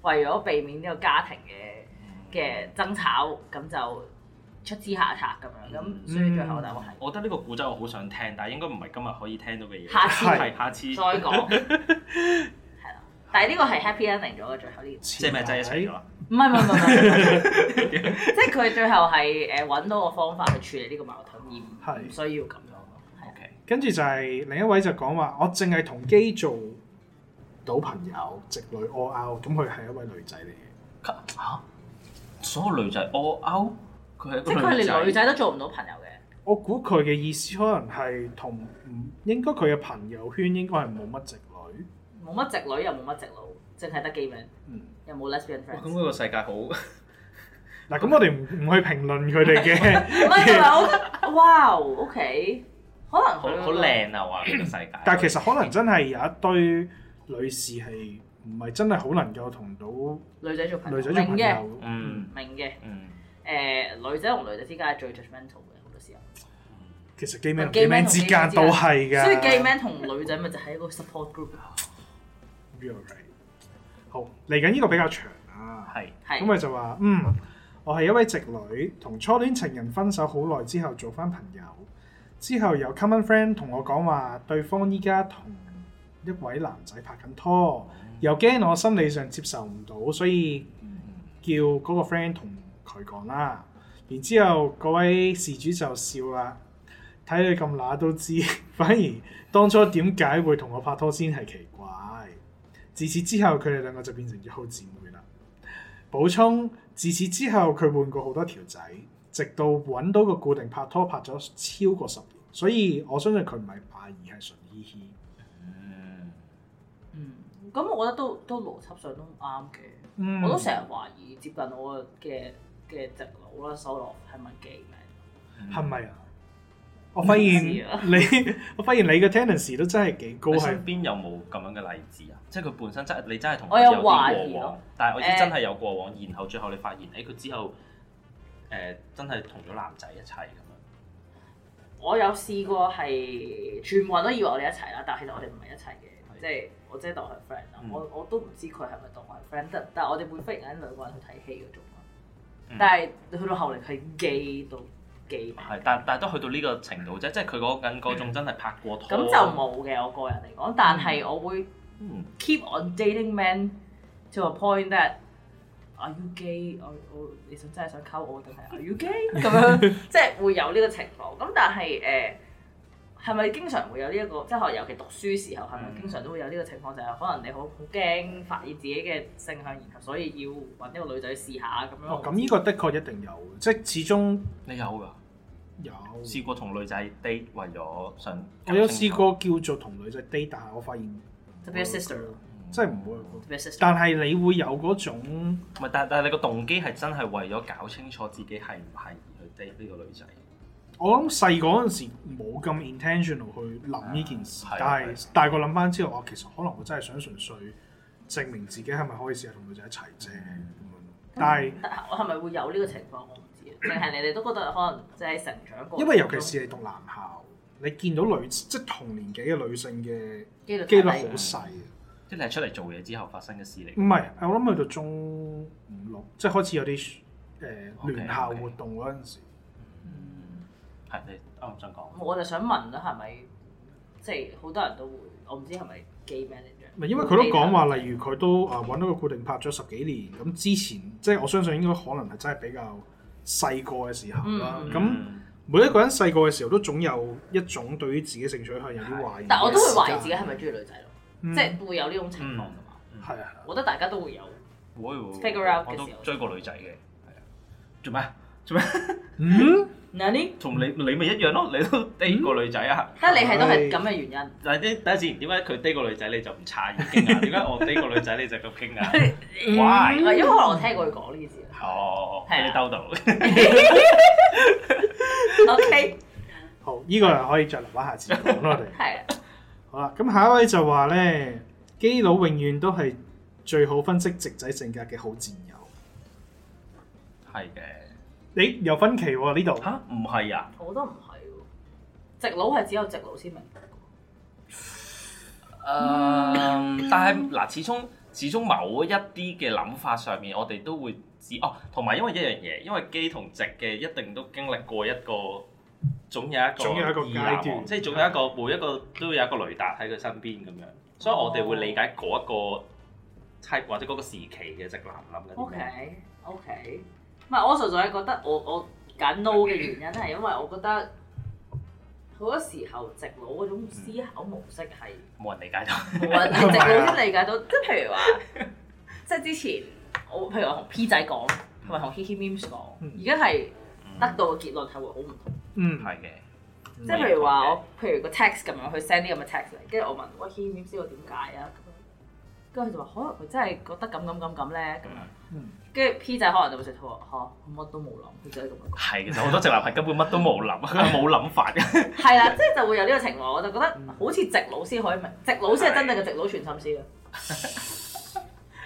為咗避免呢個家庭嘅爭吵，咁就出此下策咁樣，咁所以最後答案係。 我覺得呢個故仔我好想聽，但係應該唔係今日可以聽到嘅嘢。 下次再講。係啦，但係呢個係 happy ending 咗嘅最後呢件事。 即係咪真係一齊咗？ 唔係，即係佢最後係揾到個方法去處理呢個矛盾，而唔需要咁樣咯。 OK，跟住就係另一位就講話，我淨係同基做到朋友，直女 all out，咁佢係一位女仔嚟嘅。 嚇？所有女仔 all out？即係佢係連女仔都做唔到朋友嘅。 我估佢嘅意思可能係同應該佢嘅朋友圈應該係冇乜直女， 冇乜直女又冇乜直佬，淨係得 gay man，又冇 lesbian friends。 咁呢個世界好嗱，咁我哋唔去評論佢哋嘅。 唔係，我覺得哇 OK， 可能好靚啊！話呢個世界。 但係其實可能真係有一堆女士係唔係真係好能夠同到女仔做朋友。 明嘅， 明嘅。女仔同女仔之間係最 judgmental 嘅好多時候。 其實 gay man 同 gay man 之間都係㗎。 所以 gay man 同女仔咪就係一個 support group。 好，嚟緊呢個比較長啊。 係。 咁佢就話我係一位直女，同初戀情人分手好耐之後做翻朋友，之後有 common friend 同我講話，對方依家同一位男仔拍緊拖，又驚我心理上接受唔到，所以叫嗰個 friend 同佢講啦。然之後嗰位事主就笑啦，睇佢咁乸都知，反而當初點解會同我拍拖先係奇怪。自此之後佢哋兩個就變成咗好姊妹啦。補充，自此之後佢換過好多條仔，直到揾到個固定拍拖拍咗超過10年，所以我相信佢唔係怕，而係純嘻嘻。 咁我覺得都邏輯上都啱嘅。我都成日懷疑接近我嘅直佬啦，收落係咪 gay man？ 係咪啊？我發現你嘅 tendency 都真係幾高。 你身邊有冇咁樣嘅例子啊？即係佢本身你真係同佢有啲過往， 但係我知真係有過往，然後最後你發現佢之後真係同咗男仔一齊咁樣。 我有試過係全部人都以為我哋一齊啦，但係其實我哋唔係一齊嘅。即係我真係當佢係 friend 啦，我都唔知佢係咪當我係 friend，但係我哋會忽然間兩個人去睇戲嗰種。但係去到後嚟佢 gay 到 gay 係，但係都去到呢個程度啫，即係佢嗰種真係拍過拖。 咁就冇嘅，我個人嚟講，但係我會 keep on dating men to a point that are you gay？ 我你真係想溝我定係 are you gay？ 咁樣即係會有呢個情況。咁但係係咪經常會有呢一個？即係尤其讀書時候係咪經常都會有呢個情況？就係可能你好驚發現自己嘅性向，然後所以要揾一個女仔試下咁樣。 咁呢個的確一定有，即係始終你有㗎？有試過同女仔 date 為咗想。 我有試過叫做同女仔 date， 但係我發現就變咗 sister 咯， 即係唔會。但係你會有嗰種唔係，但係你個動機係真係為咗搞清楚自己係唔係而去 date 呢個女仔。 我諗細個嗰陣時冇咁 intentional 去諗呢件事，但係大個諗翻之後，其實可能我真係想純粹證明自己係咪可以試下同女仔一齊啫。但係我係咪會有呢個情況？我唔知，定係你哋都覺得可能即係成長過程。 因為尤其是你讀男校，你見到即係同年紀嘅女性嘅機率好細。 即係你係出嚟做嘢之後發生嘅事嚟。 唔係，我諗去到中5、6，即係開始有啲聯校活動嗰陣時。 係你啱想講。 我就想問啦，係咪即係好多人都會？我唔知係咪 gay manager。 唔係，因為佢都講話，例如佢都揾到個固定拍咗10幾年，咁之前即係我相信應該可能係真係比較細個嘅時候啦。咁每一個人細個嘅時候都總有一種對於自己性取向有啲懷疑。 但我都會懷疑自己係咪中意女仔咯，即係會有呢種情況㗎嘛。 係啊， 我覺得大家都會有。 會 figure out 嘅時候。 我都追過女仔嘅，係啊。做咩？同你咪一樣咯，你都 date 過女仔啊？ 但係你係都係咁嘅原因。 但係第一次點解佢 date 個女仔你就唔詫異驚訝？點解我 date 個女仔你就咁驚訝？Why？ 因為可能我聽過佢講呢件事。 哦，俾你兜到。 OK。 好，呢個又可以再留翻下次講咯，我哋。 係啊。好啦，咁下一位就話咧，基佬永遠都係最好分析直仔性格嘅好戰友。 係嘅。 你有分歧喎呢度？ 嚇，唔係啊！ 我覺得唔係喎，直佬係只有直佬先明白。 但係嗱，始終始終某一啲嘅諗法上面，我哋都會知哦。同埋因為一樣嘢，因為基同直嘅一定都經歷過一個，總有一個階段，即係總有一個每一個都有一個雷達喺佢身邊咁樣，所以我哋會理解嗰一個 type 或者嗰個時期嘅直男諗緊啲咩。 OK， 唔係我純粹係覺得我揀 no 嘅原因係因為我覺得。好多時候，直佬嗰種思考模式係冇人理解到， 冇人係直佬先理解到。即係譬如話，即係之前我譬如話同 P 仔講，同埋同 Hihi Memes 講，而家係得到嘅結論係會好唔同。 係嘅。 即係譬如話譬如個 text 咁樣去 send 啲咁嘅 text 嚟，跟住我問喂 Hihi Memes 知道點解啊？跟住佢就話可能佢真係覺得咁咧咁樣。跟住 P 仔可能就會直頭話嚇，乜都冇諗，佢就係咁樣講。係， 其實好多直男係根本乜都冇諗，佢冇諗法嘅。 係啦，即係就會有呢個情況，我就覺得好似直佬先可以明，直佬先係真正嘅直佬全心思啊。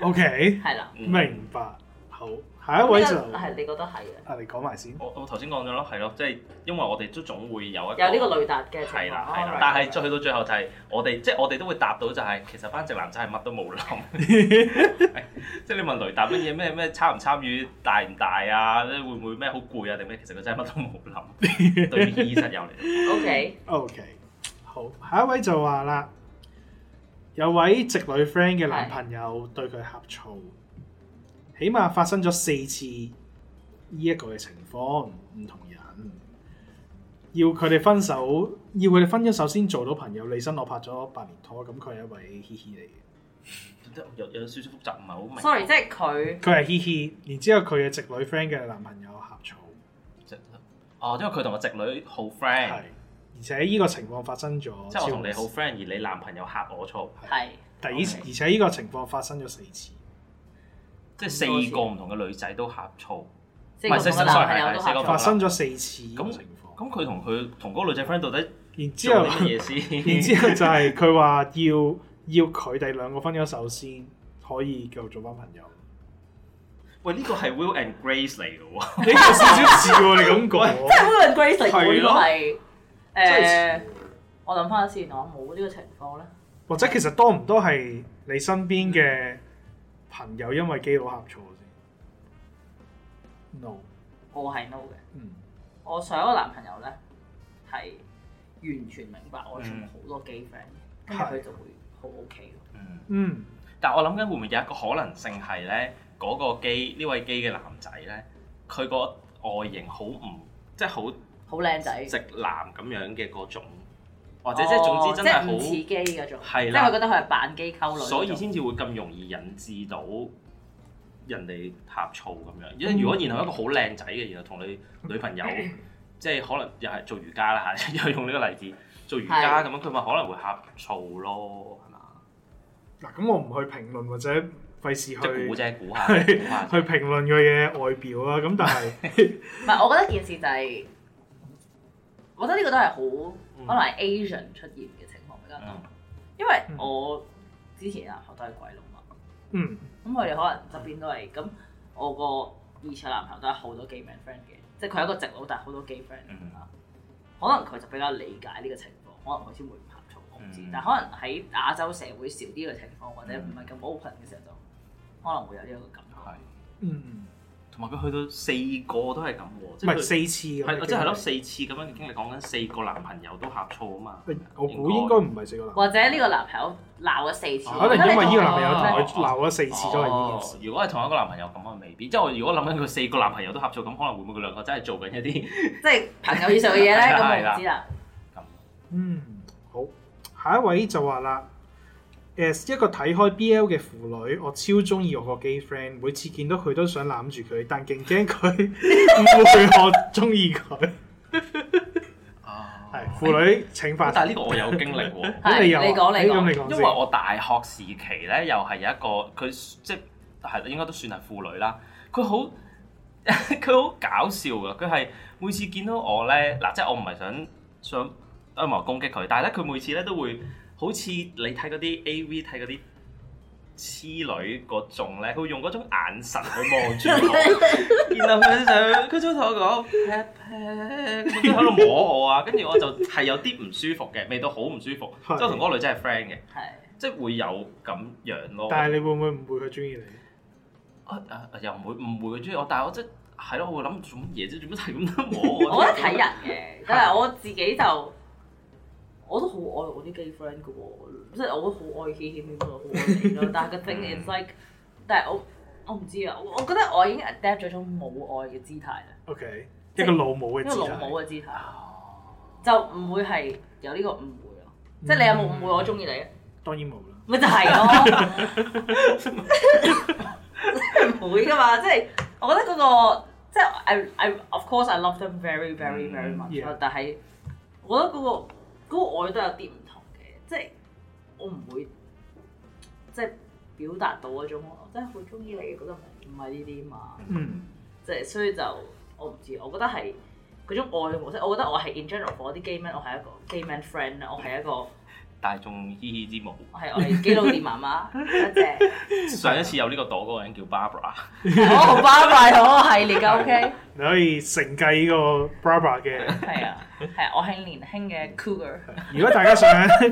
OK， 係啦， 明白。好，下一位就係你覺得係嘅。 你講埋先。 我頭先講咗咯，係咯，即係因為我哋都總會有呢個雷達嘅情況。 係啦，但係再去到最後就係我哋都會答到就係其實班直男真係乜都冇諗。即係你問雷達乜嘢咩參唔參與大唔大啊？會唔會咩好攰啊？定咩？其實佢真係乜都冇諗。對於醫生有嚟。 OK， 好，下一位就話啦，有位直女 friend 嘅男朋友對佢呷醋。起碼發生咗4次呢一個嘅情況，唔同人要佢哋分咗手先做到朋友。李生我拍咗8年拖，咁佢係一位嘻嘻嚟嘅， 有少少複雜，唔係好明。 Sorry， 即係佢係嘻嘻，然之後佢嘅直女 friend 嘅男朋友呷醋。 因為佢同個直女好 friend，係， 而且呢個情況發生咗， 即係我同你好 friend，而你男朋友呷我醋， 係， 而且呢個情況發生咗4次。 即係4個唔同嘅女仔都呷醋， 唔係4個男朋友都呷醋， 發生咗4次咁情況。 咁佢同嗰個女仔 friend 到底然之後做啲乜嘢先？ 然之後就係佢話要佢哋兩個分咗手先可以繼續做翻朋友。 喂，呢個係 Will and Grace 嚟嘅喎， 呢個少少似喎，你咁講， 即係 Will and Grace 嚟嘅呢個係我諗翻先，我冇呢個情況咧。 或者其實多唔多係你身邊嘅朋友因為基佬呷醋先 ？No， 我係 no 嘅。我上一個男朋友咧係完全明白我仲好多 gay friend 嘅，跟住佢就會好 OK 咯。 但係我諗緊會唔會有一個可能性係咧，嗰個呢位 gay 嘅男仔咧，佢個外形好唔即係好靚仔直男咁樣嘅嗰種。或者即係總之真係好似基嗰種， 係啦， 即係佢覺得佢係扮基溝女， 所以先至會咁容易引致到人哋呷醋咁樣。因為如果然後一個好靚仔嘅，然後同你女朋友即係可能又係做瑜伽啦嚇，又用呢個例子做瑜伽咁樣，佢咪可能會呷醋咯，係嘛？ 嗱，咁我唔去評論或者費事去估下去評論佢嘅外表啦。咁但係唔係，我覺得件事就係，我覺得呢個都係好。可能係 Asian 出現嘅情況比較多，因為我之前男朋友都係鬼佬嘛，咁佢哋可能側邊都係咁，我個以前男朋友都係好多 gay man friend 嘅，即係佢係一個直佬，但係好多 gay friend 啦。可能佢就比較理解呢個情況，可能佢先會唔呷醋，我唔知。但係可能喺亞洲社會少啲嘅情況，或者唔係咁 open 嘅時候，就可能會有呢一個感覺。 同埋佢去到4個都係咁喎， 唔係4次係即係咯4次咁樣嘅經歷，講緊4個男朋友都呷醋啊嘛。 我估應該唔係4個男朋友， 或者呢個男朋友鬧咗4次， 可能因為呢個男朋友同佢鬧咗4次都係呢件事。 如果係同一個男朋友咁啊，未必。即係我如果諗緊佢4個男朋友都呷醋，咁可能會唔會佢兩個真係做緊一啲即係朋友以上嘅嘢咧？咁我唔知啦。 好，下一位就話啦。一個睇開 BL 嘅腐女，我超中意我個 gay friend，每次見到佢都想攬住佢，但勁驚佢誤會我中意佢。係腐女請發。 但係呢個我有經歷喎。 咁你講。 因為我大學時期咧，又係有一個佢即係應該都算係腐女啦。佢好搞笑㗎，佢係每次見到我咧，嗱即係我唔係想陰謀攻擊佢，但係咧佢每次咧都會。好似你睇嗰啲 AV 睇嗰啲痴女嗰種咧，佢會用嗰種眼神去望住我，然後佢就同我講 pat pat， 佢喺度摸我啊，跟住我就係有啲唔舒服嘅，未到好唔舒服，即係同嗰個女仔係 friend 嘅， 即係會有咁樣咯。 但係你會唔會誤會佢中意你？ 又唔會誤會佢中意我，但係我即係咯，我會諗做乜嘢啫？做乜係咁得我？ 我覺得睇人嘅，但係我自己就我都好愛我啲 gay friend 嘅喎，即係我都好愛嘻嘻咪咪，好愛你咯。但係個 thing is like，但係我唔知啊，我覺得我已經 adapt 咗種母愛嘅姿態啦。 OK， 一個老母嘅姿態。 一個老母嘅姿態，就唔會係有呢個誤會咯。即係你有冇誤會我中意你啊？ 當然冇啦。 咪就係咯，唔會噶嘛。即係我覺得嗰個即係 I of course I love them very very very much，但係我覺得嗰個愛都有啲唔同嘅，即係我唔會即係表達到嗰種我真係好中意你，覺得唔係呢啲嘛。即係所以就我唔知，我覺得係嗰種愛嘅模式。我覺得我係 in general for 啲 gay man， 我係一個 gay man friend 啦，我係一個大眾嘻嘻之母。 我係基佬店媽媽，多謝。 上一次有呢個朵嗰個人叫 Barbara。 我 Barbara 嗰個系列㗎 OK。 你可以承繼呢個 Barbara 嘅。 係啊，我係年輕嘅 Cougar。 如果大家想，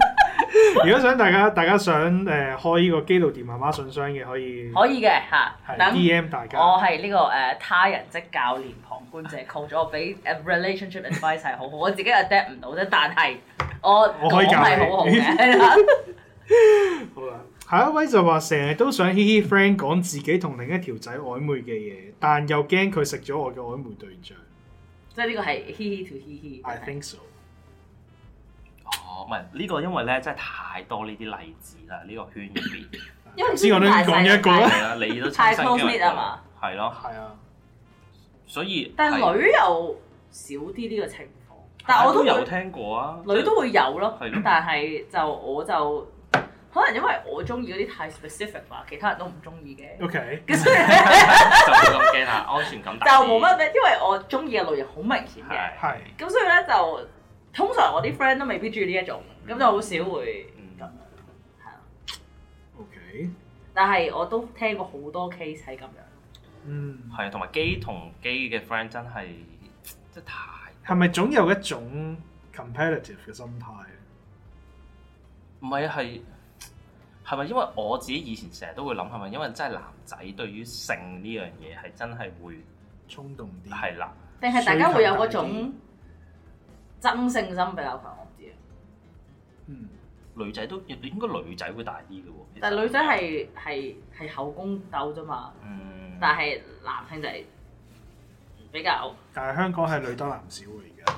大家想開呢個基佬店媽媽信箱嘅，可以嘅嚇。 係 DM 大家。 我係呢個他人即教練旁觀者 coach， 我俾 relationship advice 係好好，我自己 adapt 唔到啫，但係我可以教你好好嘅。 好啦，下一位就話成日都想嘻嘻 friend 講自己同另一條仔曖昧嘅嘢，但又驚佢食咗我嘅曖昧對象。 即係呢個係嘻嘻 to 嘻嘻。 I think so。 哦，唔係呢個，因為咧真係太多呢啲例子啦，呢個圈入邊。 因為先我都講一個係啦，你都太 close knit 啊嘛。 係咯。 係啊。 所以。但係女又少啲呢個情況，但係我都有聽過啊。 女都會有咯，但係我就。可能因為我中意嗰啲太 specific 啦，其他人都唔中意嘅。 OK。 就冇咁驚啦，安全感大。 就冇乜咩，因為我中意嘅類型好明顯嘅。 係。 咁所以咧就通常我啲 friend 都未必中意呢一種，咁就好少會咁樣。係啊。 OK。 但係我都聽過好多 case 係咁樣。 係啊，同埋基同基嘅 friend 真係真係太。 係咪總有一種 competitive 嘅心態？ 唔係啊，係咪因為我自己以前成日都會諗，係咪因為真係男仔對於性呢樣嘢係真係會衝動啲？ 係啦。 定係大家會有嗰種爭勝心比較強？我唔知啊。 女仔都應該女仔會大啲嘅喎。 但係女仔係後宮鬥啫嘛。但係男性就係比較。 但係香港係女多男少喎而家。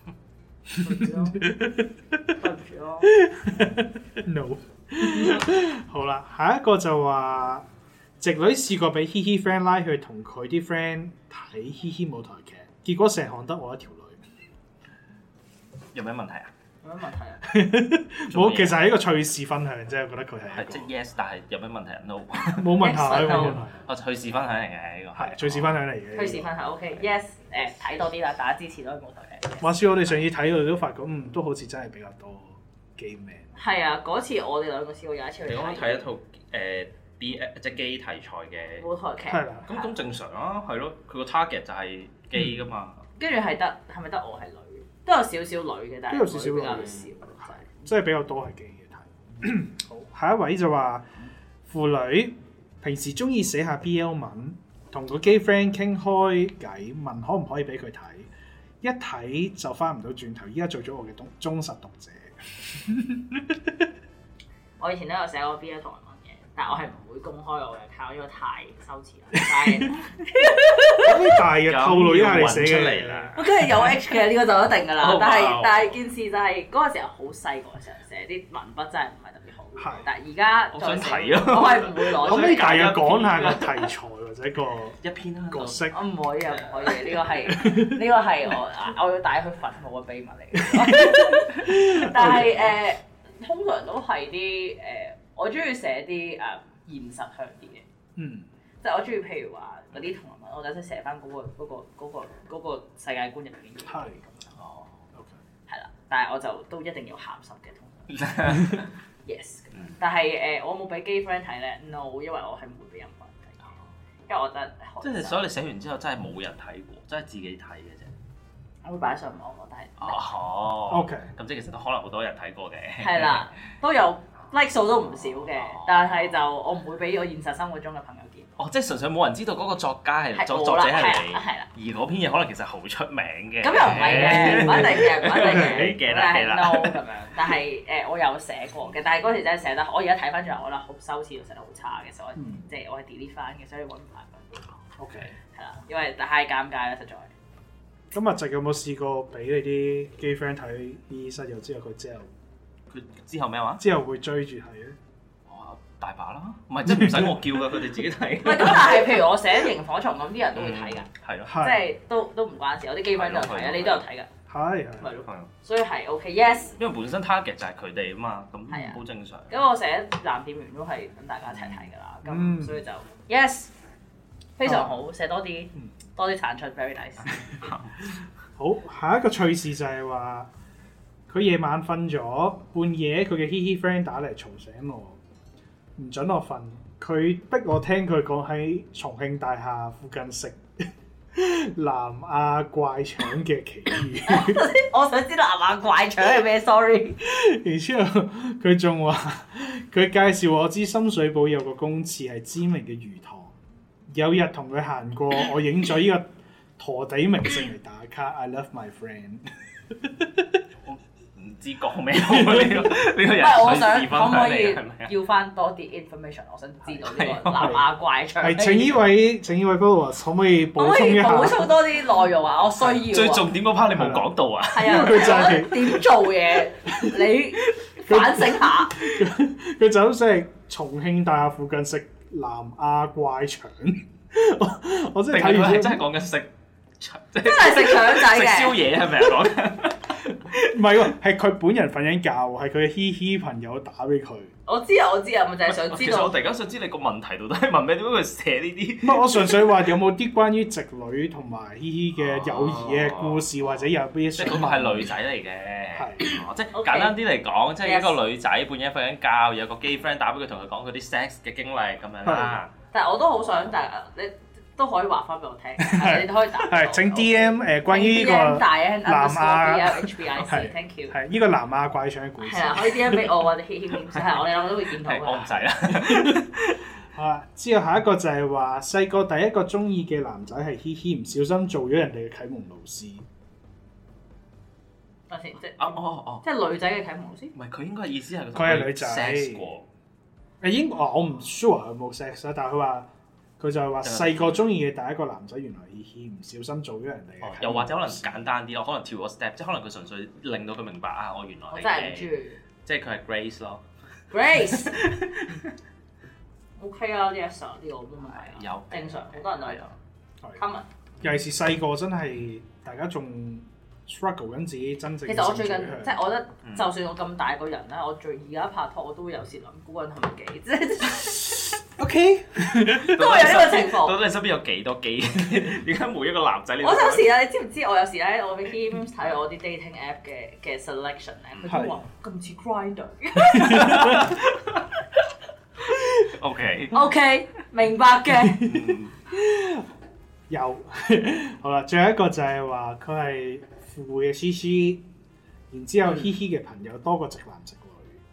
對唔住咯。 No。好啦，下一個就話，直女試過俾嘻嘻 friend 拉去同佢啲 friend 睇嘻嘻舞台劇，結果成行得我一條女。 有咩問題啊？ 有咩問題啊？ 冇，其實係一個趣事分享啫，我覺得佢係即 yes， 但係有咩問題啊 ？No， 冇問題，冇問題。 我趣事分享嚟嘅呢個係趣事分享嚟嘅。 趣事分享 OK，yes， 睇多啲啦，大家支持多啲舞台劇。 話說我哋上次睇到都發覺，都好似真係比較多 gay man。 係啊，嗰次我哋兩個試過有一次去睇一套即係基題材嘅舞台劇。 係啦。 咁正常啊，係咯，佢個 target 就係基噶嘛。 跟住係咪得我係女？都有少少女嘅，但係都有少少比較少， 即係比較多係基嘅睇。好，下一位就話婦女平時中意寫下 BL 文，同個 gay friend 傾開偈，問可唔可以俾佢睇，一睇就翻唔到轉頭。依家做咗我嘅忠實讀者。 我以前都有寫過 BL 同人文嘅，但係我係唔會公開我嘅 account，因為太羞恥啦。 可以大約透露一下你寫嘅啦。 我梗係有 H 嘅，呢個就一定㗎啦。但係件事就係嗰個時候好細個嘅時候寫啲文筆真係唔係特別好。係。但係而家我想睇啊！ 我係唔會攞。 可唔可以大約講下個題材或者個一篇角色？ 我唔可以啊，唔可以。呢個係我要帶佢墳墓嘅秘密嚟嘅。但係通常都係啲我中意寫啲現實向啲嘅。即係我中意譬如話嗰啲同人文，我就想寫翻嗰個世界觀入邊嘅。 係。 哦。OK。 係啦，但係我就都一定要鹹濕嘅通常。Yes。但係我冇俾 gay friend 睇咧 ，no， 因為我係唔會俾任何人睇，因為我覺得即係所以你寫完之後真係冇人睇過，真係自己睇嘅啫。 我會擺上網，但係哦。OK。咁即係其實都可能好多人睇過嘅。 係啦，都有 like 數都唔少嘅，但係就我唔會俾我現實生活中嘅朋友見。 哦，即係純粹冇人知道嗰個作家係作者係你，而嗰篇嘢可能其實好出名嘅。 咁又唔係嘅，唔一定嘅，唔一定嘅。 記但係啦 no 咁樣，但係我有寫過嘅，但係嗰時真係寫得，我而家睇翻轉頭，我覺得好羞恥，寫得好差嘅，所以即係我係 delete 翻嘅，所以揾唔翻。 OK。 係啦，因為太尷尬啦，實在。 咁阿直有冇試過俾你啲 gay friend 睇醫室友之後，佢之後咩話？ 之後會追住睇咧？ 大把啦，唔係即係唔使我叫㗎，佢哋自己睇。 唔係咁，但係譬如我寫螢火蟲咁，啲人都會睇㗎。 係咯， 即係都唔關事，我啲 gay friend 都有睇啊，你都有睇㗎。 係咪咯，所以係 OK，yes。 因為本身 target 就係佢哋啊嘛，咁好正常。 咁我寫男店員都係等大家一齊睇㗎啦，咁所以就 yes，非常好，寫多啲產出 ，very nice。 好，下一個趣事就係話，佢夜晚瞓咗，半夜佢嘅嘻嘻 friend 打嚟嘈醒我。唔準我瞓，佢逼我聽佢講喺重慶大廈附近食南亞怪腸嘅奇遇。 我想知南亞怪腸係咩 ？Sorry。 然之後佢仲話，佢介紹我知深水埗有個公廁係知名嘅魚塘。有日同佢行過，我影咗呢個陀地明星嚟打卡。I love my friend。 唔知講咩好呢個人。 我想可唔可以要翻多啲 information？ 我想知道呢個南亞怪腸。 係請呢位 followers 可唔可以補充一下？ 補充多啲內容啊！我需要。 最重點嗰 part 你冇講到啊！ 係啊，佢就係點做嘢，你反省下。 佢就咁食重慶大廈附近食南亞怪腸。我真係睇完真係講緊食腸， 真係食腸仔嘅。 食宵夜係咪講緊？ 唔係喎，係佢本人瞓緊覺，係佢嘅嘻嘻朋友打俾佢。 我知啊，咪就係想知道。 其實我突然間想知你個問題到底係問咩？點解佢寫呢啲？ 唔係，我純粹話有冇啲關於直女同埋嘻嘻嘅友誼嘅故事，或者有啲即係嗰個係女仔嚟嘅。 係， 即係簡單啲嚟講，即係一個女仔半夜瞓緊覺，有個 gay friend 打俾佢，同佢講佢啲 sex 嘅經歷咁樣啦。 但係我都好想，但係你都可以話翻俾我聽，你都可以答。 係請 DM 關於呢個南亞 HBIC，thank you。 係呢個南亞怪腸嘅故事。 係啊，可以 DM 俾我或者嘻嘻面，係我哋兩個都會見到㗎。 我唔使啦。 好啦，之後下一個就係話細個第一個中意嘅男仔係嘻嘻，唔小心做咗人哋嘅啟蒙老師。 等先，即係即係女仔嘅啟蒙老師。 唔係，佢應該意思係佢係女仔。 sex 過。 我唔 sure 佢冇 sex 啦，但係佢話。佢就係話細個中意嘅第一個男仔，原來嘻嘻唔小心做咗人哋嘅。 又或者可能簡單啲咯，可能跳個 step，即係可能佢純粹令到佢明白啊，我原來我真係唔中意， 即係佢係 Grace 咯。 Grace OK 啊，呢一首呢個冇問題， 有正常，好多人都有。Common 尤其是細個真係大家仲 struggle 緊自己真正。 其實我最近即係我覺得，就算我咁大個人咧，我而家拍拖我都會有時諗估緊係咪基，即係。OK，都會有呢個情況。 到底你身邊有幾多基？點解每一個男仔你？ 我有時咧，你知唔知？我有時咧，我俾 Kim 睇我啲 dating app 嘅 selection 咧，佢都話咁似 Grindr。OK，明白嘅。 有好啦，最後一個就係話佢係富嘅 CC， 然之後嘻嘻嘅朋友多過直男直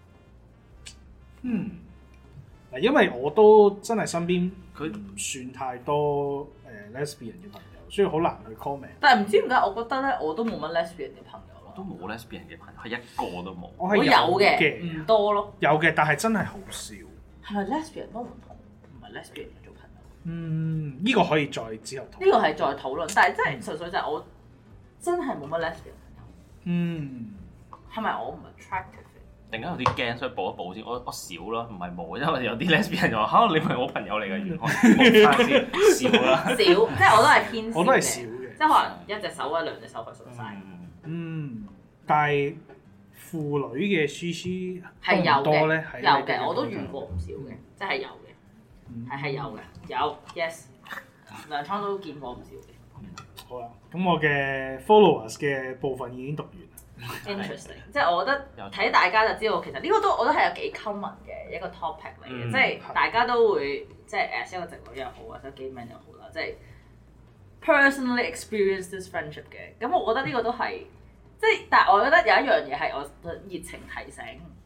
女。嗱，因為我都真係身邊佢唔算太多lesbian 嘅朋友，所以好難去 comment。 但係唔知點解，我覺得咧，我都冇乜 lesbian 嘅朋友咯。 都冇 lesbian 嘅朋友，係一個都冇。 我有嘅， 唔多咯。 有嘅，但係真係好少。 係咪 lesbian 都唔同？唔係 lesbian 做朋友。 呢個可以再之後討論。 呢個係再討論，但係真係純粹就係我真係冇乜 lesbian 朋友。係咪我唔 attractive？ 突然間有啲驚，所以補一補先。我少啦，唔係冇，因為有啲 lesbian 就話嚇你唔係我朋友嚟嘅，原來補翻先少啦。少，即係我都係偏少嘅。我都係少嘅，即係可能一隻手或者兩隻手佢數晒。 但係婦女嘅 CC 係有多咧， 有嘅，我都遇過唔少嘅，即係有嘅，係有嘅，有 yes， 糧倉都見過唔少嘅。好啦， 咁我嘅 followers 嘅部分已經讀完。 Interesting， 即係我覺得睇大家就知道，其實呢個都我覺得係有幾 common 嘅一個 topic 嚟嘅，即係大家都會即係as一個直女又好，或者 gay man 又好啦，即係 personally experience this friendship 嘅。咁我覺得呢個都係即係，但係我覺得有一樣嘢係我熱情提醒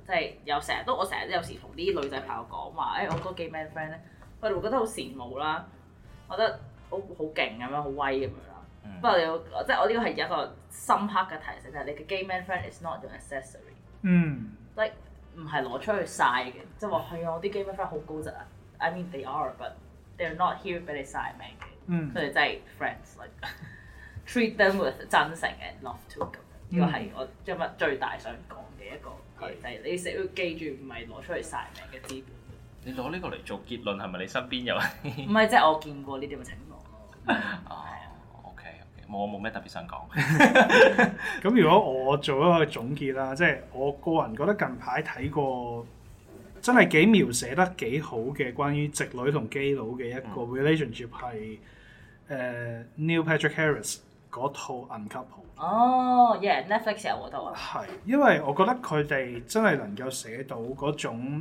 即係我成日有時同啲女仔朋友講話，我個 gay man friend 咧，佢哋會覺得好羨慕啦，覺得好勁咁樣，好威咁樣啦。不過即係我呢個係一個深刻嘅提醒，就係你嘅 gay man friend is not your accessory。即係唔係攞出去晒嘅，即係話係啊，我啲 gay man friend 好高質啊。I mean they are，but they're not here 俾你晒命嘅。佢哋真係 friends，like treat them with 真誠and love to 咁。呢個係我今日最大想講嘅一個嘢，就係你成日要記住，唔係攞出去晒命嘅資本。 你攞呢個嚟做結論係咪你身邊有？ 唔係，即係我見過呢啲咁嘅情況咯。 OK，我冇咩特別想講。 咁如果我做一個總結啦，即係我個人覺得近排睇過真係幾描寫得幾好嘅關於直女同基佬嘅一個 relationship 係Neil Patrick Harris 嗰套 Uncoupled。 Netflix 有嗰套啊。 係，因為我覺得佢哋真係能夠寫到嗰種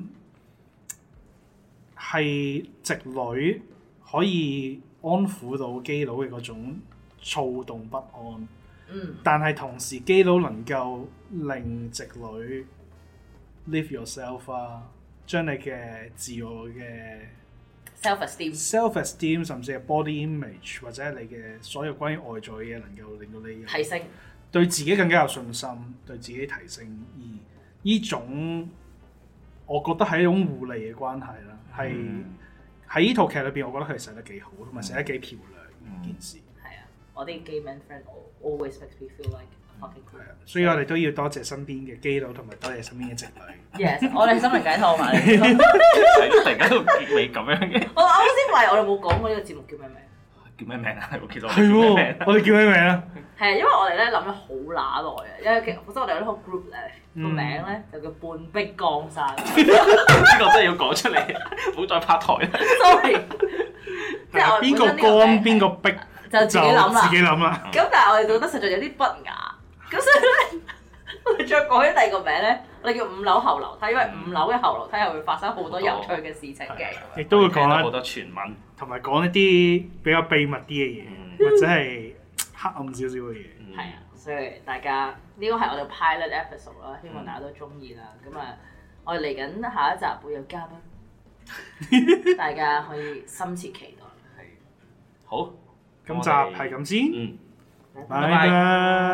係直女可以安撫到基佬嘅嗰種躁動不安。但係同時基佬能夠令直女 live yourself 啊，將你嘅自我嘅 self-esteem 甚至係 body image 或者係你嘅所有關於外在嘅嘢，能夠令到你提升， 對自己更加有信心，對自己提升。而呢種我覺得係一種互利嘅關係啦，係喺呢套劇裏邊，我覺得佢寫得幾好，同埋寫得幾漂亮件事。 係啊，我啲 gay man friend always makes me feel like fucking cool。 所以我哋都要多謝身邊嘅基佬，同埋多謝身邊嘅直女。 Yes， 我哋心靈解套埋。 突然間到結尾咁樣嘅。 我啱先話我哋冇講過呢個節目叫咩名？ 叫咩名啊？其實係喎，我哋叫咩名啊？ 係啊，因為我哋咧諗咗好乸耐啊，因為本身我哋有呢個 group 咧，個名咧就叫半壁江山。 呢個真係要講出嚟，唔好再拍台啦。 Sorry， 即係邊個江邊個壁就自己諗啦。咁但係我哋覺得實在有啲不雅，咁所以咧我哋再改咗第二個名咧，我哋叫5樓後樓梯，因為5樓嘅後樓梯係會發生好多有趣嘅事情嘅， 亦都會講好多傳聞， 同埋講一啲比較秘密啲嘅嘢，或者係黑暗少少嘅嘢。 係啊，所以大家呢個係我哋 pilot episode 啦，希望大家都中意啦。咁啊，我哋嚟緊下一集會有嘉賓，大家可以深切期待。 好， 今集係咁先， 拜拜。